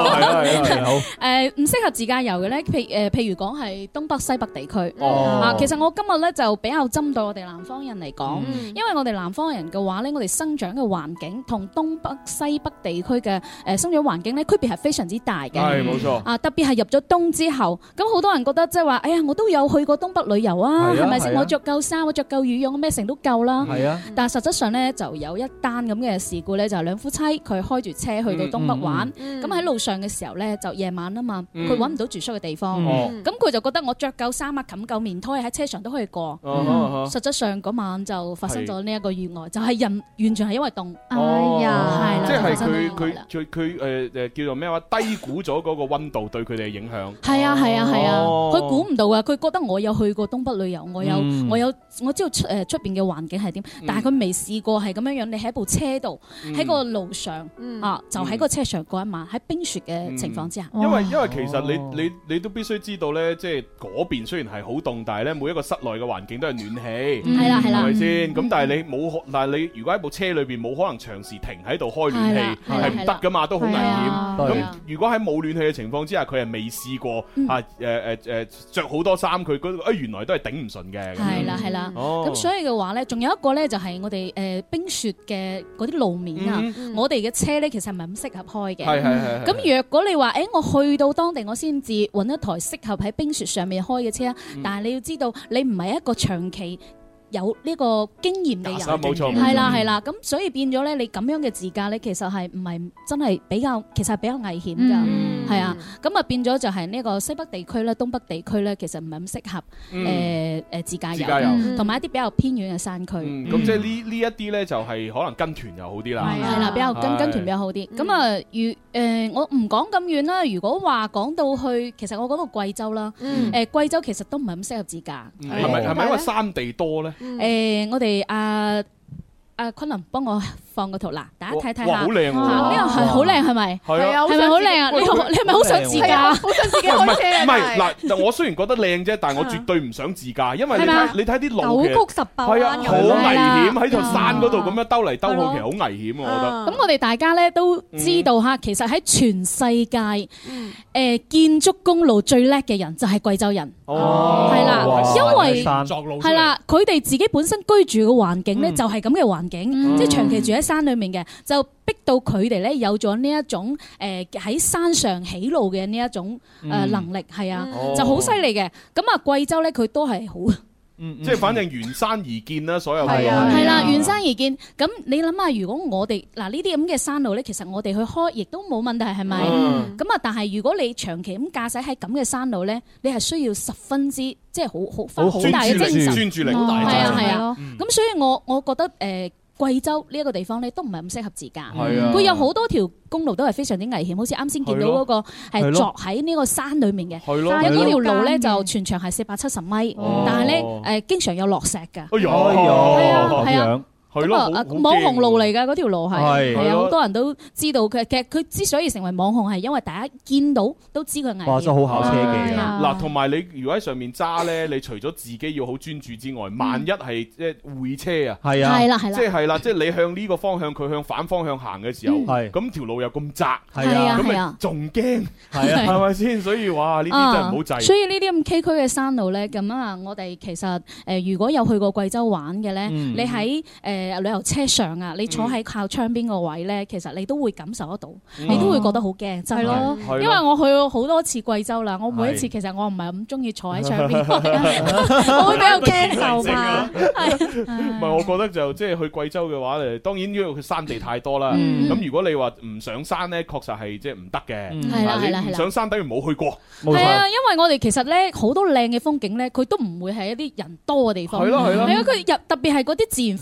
唔適合自駕遊嘅咧，譬如講係東北、西北地區。其實我今日咧就比較針對我哋南方人嚟講，因為我哋南方人嘅話咧，我哋生長嘅環境同東北、西北地區嘅生長環境咧區別係非常之大嘅。 係冇錯。 特別係入咗冬之後，咁好多人覺得即係話，哎呀，我都有去過東北旅遊啊，係咪先？我着夠衫，我着夠羽絨，咩成都夠啦。係啊。但係實質上咧，就有一單咁嘅事故咧，就係兩夫妻佢開住車去到東北玩，咁喺路上嘅時候咧，就夜晚啊嘛，佢揾唔到住宿嘅地方，咁佢就覺得我着夠衫啊，冚夠棉胎喺車上都可以過。實質上嗰晚就發生咗呢一個意外，就係人完全係因為凍。哎呀，係啦， 即係佢叫做咩話？低估咗嗰個溫度對佢哋嘅影響。 係啊，佢估唔到啊！佢覺得我有去過東北旅遊，我知道出邊嘅環境係點，但係佢未試過係咁樣樣。你喺部車度，喺個路上就喺個車上過一晚，喺冰雪嘅情況之下。 因為其實你都必須知道咧，即係嗰邊雖然係好凍，但係咧每一個室內嘅環境都係暖氣， 係啦， 係咪先？咁但係你如果喺部車裏邊冇可能長時停喺度開暖氣，係唔得噶嘛，都好危險。咁如果喺冇暖氣嘅情況之下，佢係未試過着好多衫，佢原來都係頂唔順嘅。 係啦。咁所以嘅話咧，仲有一個咧就係我哋冰雪嘅嗰啲路面啊，我哋嘅車咧其實唔係咁適合開嘅。係。咁若果你話我去到當地我先至揾一台適合喺冰雪上面開嘅車，但係你要知道你唔係一個長期有呢個經驗嘅人， 冇錯， 係啦，咁所以變咗咧，你咁樣嘅自駕咧，其實係唔係真係比較危險㗎，係啊，咁啊變咗就係呢個西北地區咧、東北地區咧，其實唔係咁適合自駕遊，同埋一啲比較偏遠嘅山區。 咁即係呢一啲咧，就係可能跟團又好啲啦。 係啦，比較跟團比較好啲。咁啊，我唔講咁遠啦。如果話講到去，其實我講到貴州啦，貴州其實都唔係咁適合自駕。 係咪因為山地多咧？ 我哋阿昆侖幫我放個圖嗱，大家睇睇下。 哇，好靚喎！ 呢個係好靚係咪？ 係啊， 係咪好靚啊？你係咪好想自駕？ 好想自己開車啊！ 唔係嗱，我雖然覺得靚啫，但係我絕對唔想自駕，因為你睇啲路九曲十八彎， 係啊，好危險喺條山嗰度咁樣兜嚟兜去，其實好危險我覺得。 咁我哋大家咧都知道嚇，其實喺全世界建築公路最叻嘅人就係貴州人。係啦，因為係啦，佢哋自己本身居住嘅環境咧就係咁嘅環境。即係長期住喺山裏面嘅，就逼到佢哋咧有咗呢一種喺山上起路嘅呢一種能力，係啊，就好犀利嘅。咁啊，貴州咧佢都係好， 即係反正沿山而建啦，所有嘅係啦，沿山而建。咁你諗下，如果我哋嗱呢啲咁嘅山路咧，其實我哋去開亦都冇問題，係咪？咁啊，但係如果你長期咁駕駛喺咁嘅山路咧，你係需要十分之即係好大嘅精神專注力， 係啊。咁所以我覺得貴州呢一個地方咧都唔係咁適合自駕，佢有好多條公路都係非常之危險，好似啱先見到嗰個係鑿喺呢個山裡面嘅，有呢條路咧就全長係470米，但係咧經常有落石㗎，係啊。咁網紅路嚟㗎嗰條路係啊，好多人都知道佢。其實佢之所以成為網紅係因為大家見到都知佢危險。 哇！真係好考車技啊！ 嗱，同埋你如果喺上面揸咧，你除咗自己要好專注之外，萬一係即係會車啊， 係啊， 係啦，即係你向呢個方向，佢向反方向行嘅時候，咁條路又咁窄，咁咪仲驚，係咪先？所以哇，呢啲真係唔好制。 所以呢啲咁崎嶇嘅山路咧，咁啊，我哋其實如果有去過貴州玩嘅咧，你喺旅遊車上啊，你坐喺靠窗邊個位咧，其實你都會感受得到，你都會覺得好驚，真係咯。因為我去過好多次貴州啦，我每一次其實我唔係咁中意坐喺窗邊，我會比較驚受怕。 唔係，我覺得就即係去貴州嘅話，當然因為佢山地太多啦。咁如果你話唔上山咧，確實係即係唔得嘅。係啦，唔上山等於冇去過。 係啊，因為我哋其實咧好多靚嘅風景咧，佢都唔會係一啲人多嘅地方。係啊，佢特別係嗰啲自然風景，佢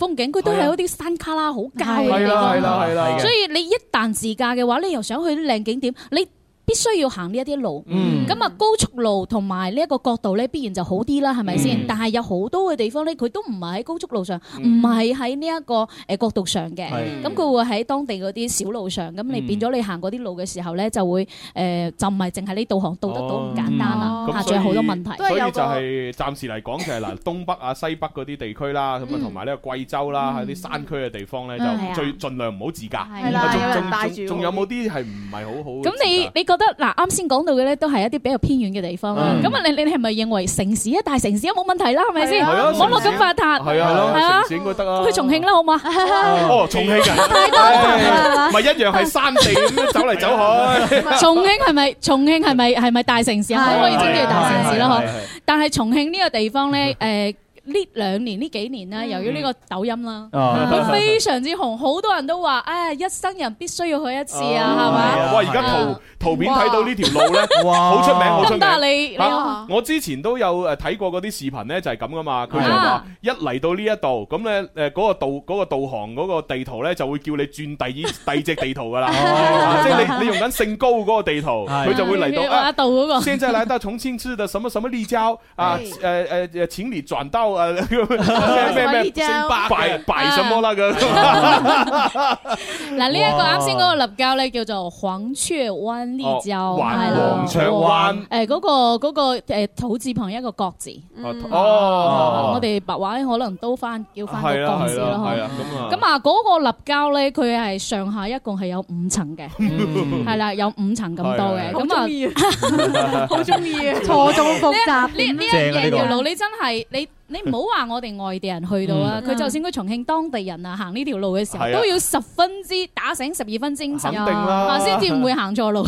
都係嗰啲山卡拉好郊嘅地方，所以你一旦自駕嘅話，你又想去啲靚景點，你必須要行呢一啲路，咁啊高速路同埋呢一個角度咧，必然就好啲啦，係咪先？但係有好多嘅地方咧，佢都唔係喺高速路上，唔係喺呢一個角度上嘅，咁佢會喺當地嗰啲小路上，咁你變咗你行嗰啲路嘅時候咧，就會就唔係淨係你導航導得到咁簡單啦，仲有好多問題。 所以就係暫時嚟講就係嗱，東北啊、西北嗰啲地區啦，咁啊同埋呢個貴州啦，喺啲山區嘅地方咧，就最盡量唔好自駕。係啦，有人帶住。仲有冇啲係唔係好好？ 咁你覺得嗱，啱先講到嘅咧，都係一啲比較偏遠嘅地方啦。咁啊，你係咪認為城市大城市都冇問題啦？係咪先？網絡咁發達，係啊， 城市應該得啊。 去重慶啦，好嘛？ 哦，重慶啊，太多啦，咪一樣係山地咁樣走嚟走去。 重慶係咪大城市啊？可唔可以稱之為大城市啦？嗬。但係重慶呢個地方咧，呢2年呢幾年咧，由於呢個抖音啦，佢非常之紅，好多人都話，一生人必須要去一次啊，係咪？ 哇！而家圖片睇到呢條路咧，好出名，好出名。 得你我之前都有睇過嗰啲視頻咧，就係咁噶嘛。佢就話一嚟到呢一度，咁咧嗰個導航嗰個地圖咧，就會叫你轉第二隻地圖噶啦。即係你用緊姓高嗰個地圖，佢就會嚟到嗰個。 現在來到重慶市的什麼什麼立交啊，請你轉到咩擺什麼啦咁。 嗱，呢一個啱先嗰個立交咧叫做黃雀灣立交， 係啦，黃雀灣。 嗰個土字旁一個國字。我哋白話可能都叫翻個國字啦。咁啊，嗰個立交咧，佢係上下一共係有5層嘅，係啦，有5層咁多嘅。咁啊， 好中意， 錯綜複雜。呢條路你真係你唔好話我哋外地人去到啊，佢就算佢重慶當地人啊，行呢條路嘅時候都要10分之打醒12分精神，先至唔會行錯路。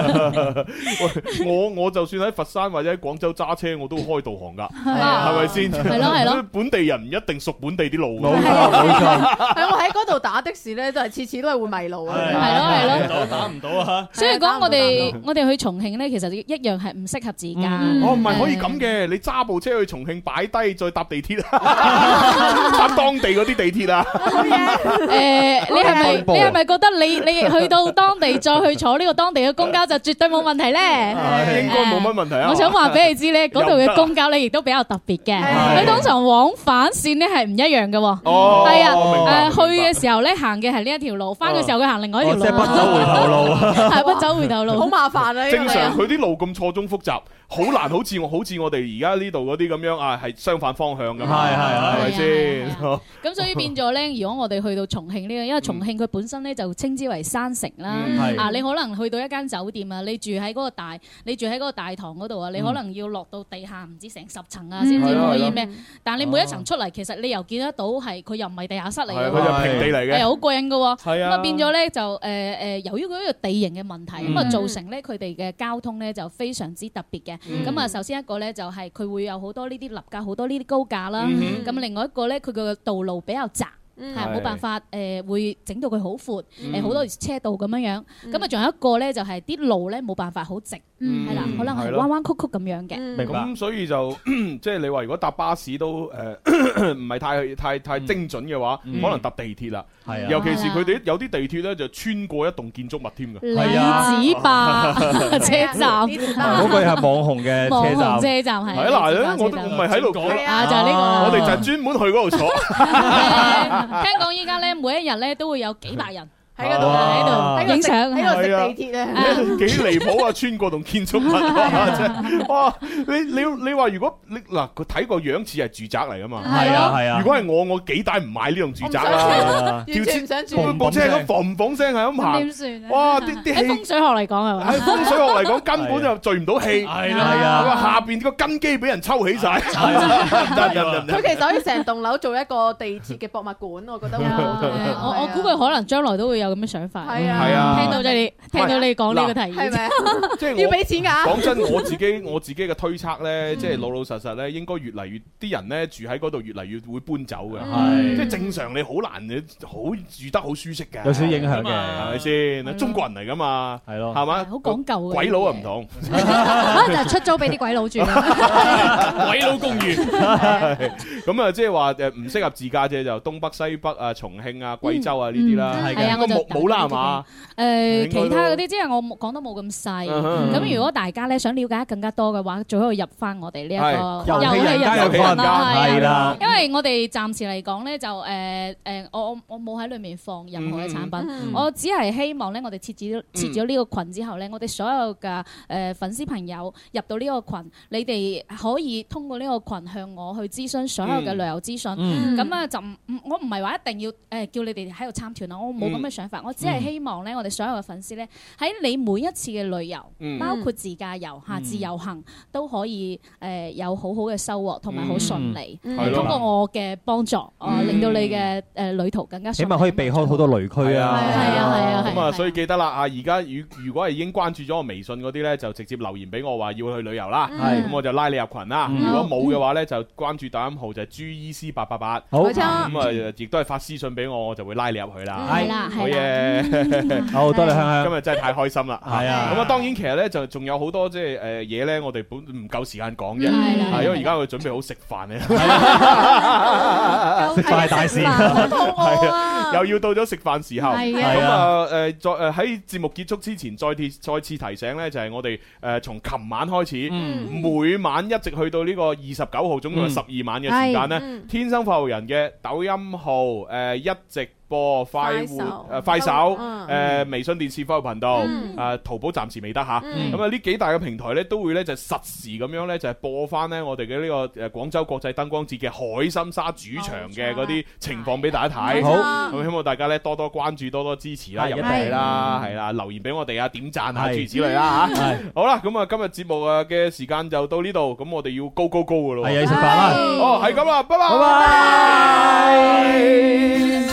我就算喺佛山或者喺廣州揸車，我都開導航㗎，係咪先？ 係咯。 本地人唔一定熟本地啲路。 冇錯。我喺嗰度打的士咧，都係次次都係會迷路啊。 係咯。 打唔到啊！ 所以講我哋去重慶咧，其實一樣係唔適合自駕。 唔係可以咁嘅，你揸部車去重慶擺低再搭地鐵啊，搭當地嗰啲地鐵啊。 你係咪覺得你去到當地再去坐呢個當地嘅公交就絕對冇問題咧？ 應該冇乜問題啊。 我想話俾你知咧，嗰度嘅公交咧亦都比較特別嘅，佢通常往返線咧係唔一樣嘅。係啊，去嘅時候咧行嘅係呢一條路，翻嘅時候佢行另外一條路。 即係不走回頭路， 係不走回頭路， 好麻煩啊！ 正常佢啲路咁錯綜複雜。好難，好似我哋而家呢度嗰啲咁樣啊，係相反方向㗎嘛，係咪先？ 咁所以變咗咧，如果我哋去到重慶呢個，因為重慶佢本身咧就稱之為山城啦。你可能去到一間酒店啊，你住喺嗰個大堂嗰度啊，你可能要落到地下唔知成10層啊，先至可以咩？但係你每一層出嚟，其實你又見得到係佢又唔係地下室嚟嘅， 佢就平地嚟嘅， 係好過癮嘅喎。 咁啊變咗咧就由於佢呢個地形嘅問題，咁啊造成咧佢哋嘅交通咧就非常之特別嘅。咁啊，首先一個咧就係佢會有好多呢啲立架，好多呢啲高架啦。咁另外一個咧，佢個道路比較窄，係冇辦法會整到佢好闊，好多車道咁樣樣。咁啊，仲有一個咧就係啲路咧冇辦法好直，係啦，可能係彎彎曲曲咁樣嘅。 咁所以就即係你話如果搭巴士都唔係太精準嘅話，可能搭地鐵啦。係啊，尤其是佢哋有啲地鐵咧就穿過一棟建築物添㗎。 李子壩車站， 嗰個係網紅嘅車站係。 嗱，我唔係喺度講啊，就係呢個。 我哋就係專門去嗰度坐。 聽講依家咧，每一日咧都會有幾百人喺嗰度影相， 喺度食地鐵啊！ 幾離譜啊！穿過棟建築物，哇！你話如果你嗱佢睇個樣似係住宅嚟噶嘛？ 係啊！ 如果係我幾大唔買呢棟住宅啦？ 完全唔想住。 部車咁嘣聲係咁行， 點算？ 哇！啲氣喺風水學嚟講係嘛？ 喺風水學嚟講根本就聚唔到氣，係啦，下邊個根基俾人抽起晒。 佢其實可以成棟樓做一個地鐵嘅博物館，我覺得會好。 我估佢可能將來都會有咁嘅想法。 係啊， 聽到你講呢個提議， 係咪？ 即係要俾錢㗎。 講真，我自己嘅推測咧，即係老老實實咧，應該越嚟越啲人咧住喺嗰度，越嚟越會搬走嘅。係，即係正常你好難好住得好舒適嘅， 有少影響嘅， 係咪先？中國人嚟㗎嘛，係咯，係嘛？ 好講究嘅。 鬼佬啊唔同， 可能就出租俾啲鬼佬住。 鬼佬公寓。 咁啊，即係話唔適合自駕啫，就東北、西北啊、重慶啊、貴州啊呢啲啦。 係啊，我就冇啦係嘛？ 其他嗰啲即係我講得冇咁細。咁如果大家咧想了解更加多嘅話，最好入翻我哋呢一個遊戲人間啦。係啦，因為我哋暫時嚟講咧就我冇喺裏面放任何嘅產品，我只係希望咧我哋設咗呢個群之後咧，我哋所有嘅粉絲朋友入到呢個群，你哋可以通過呢個群向我去諮詢所有嘅旅遊資訊。咁啊就我唔係話一定要叫你哋喺度參團啦，我冇咁嘅想法，我只係希望咧我哋所有嘅粉絲咧喺你每一次嘅旅遊，包括自駕遊自由行都可以有好好嘅收穫同埋好順利。通過我嘅幫助，令到你嘅旅途更加順利， 起碼可以避開好多雷區啊！ 係啊！ 咁啊，所以記得啦啊！而家如果係已經關注咗我微信嗰啲咧，就直接留言俾我話要去旅遊啦。咁我就拉你入群啦。如果冇嘅話咧，就關注抖音號就係 GEC888。好，咁啊，亦都係發私信俾我，我就會拉你入去啦。 係啦， 好嘢！ 好多謝香香， 今日真係太開心啦。 係啊， 咁啊，當然其實咧就仲有好多即係嘢咧，我哋本唔夠時間講啫。係因為而家我準備好食飯咧。 食飯係大事， 係啊，又要到咗食飯時候。 咁啊再喺節目結束之前，再次提醒咧，就係我哋從琴晚開始，每晚一直去到呢個29號，總共係12晚嘅時間咧，天生發育人嘅抖音號一直播快手微信電視快活頻道淘寶暫時未得吓，咁啊呢幾大嘅平台咧都會咧就實時咁樣咧就係播翻咧我哋嘅呢個廣州國際燈光節嘅海心沙主場嘅嗰啲情況俾大家睇。好，咁希望大家咧多多關注，多多支持啦，入嚟啦，係啦，留言俾我哋啊，點讚啊，諸如此類啦吓。好啦，咁啊今日節目嘅時間就到呢度，咁我哋要高噶咯。 係啊，食飯啦。 哦，係咁啦，拜拜。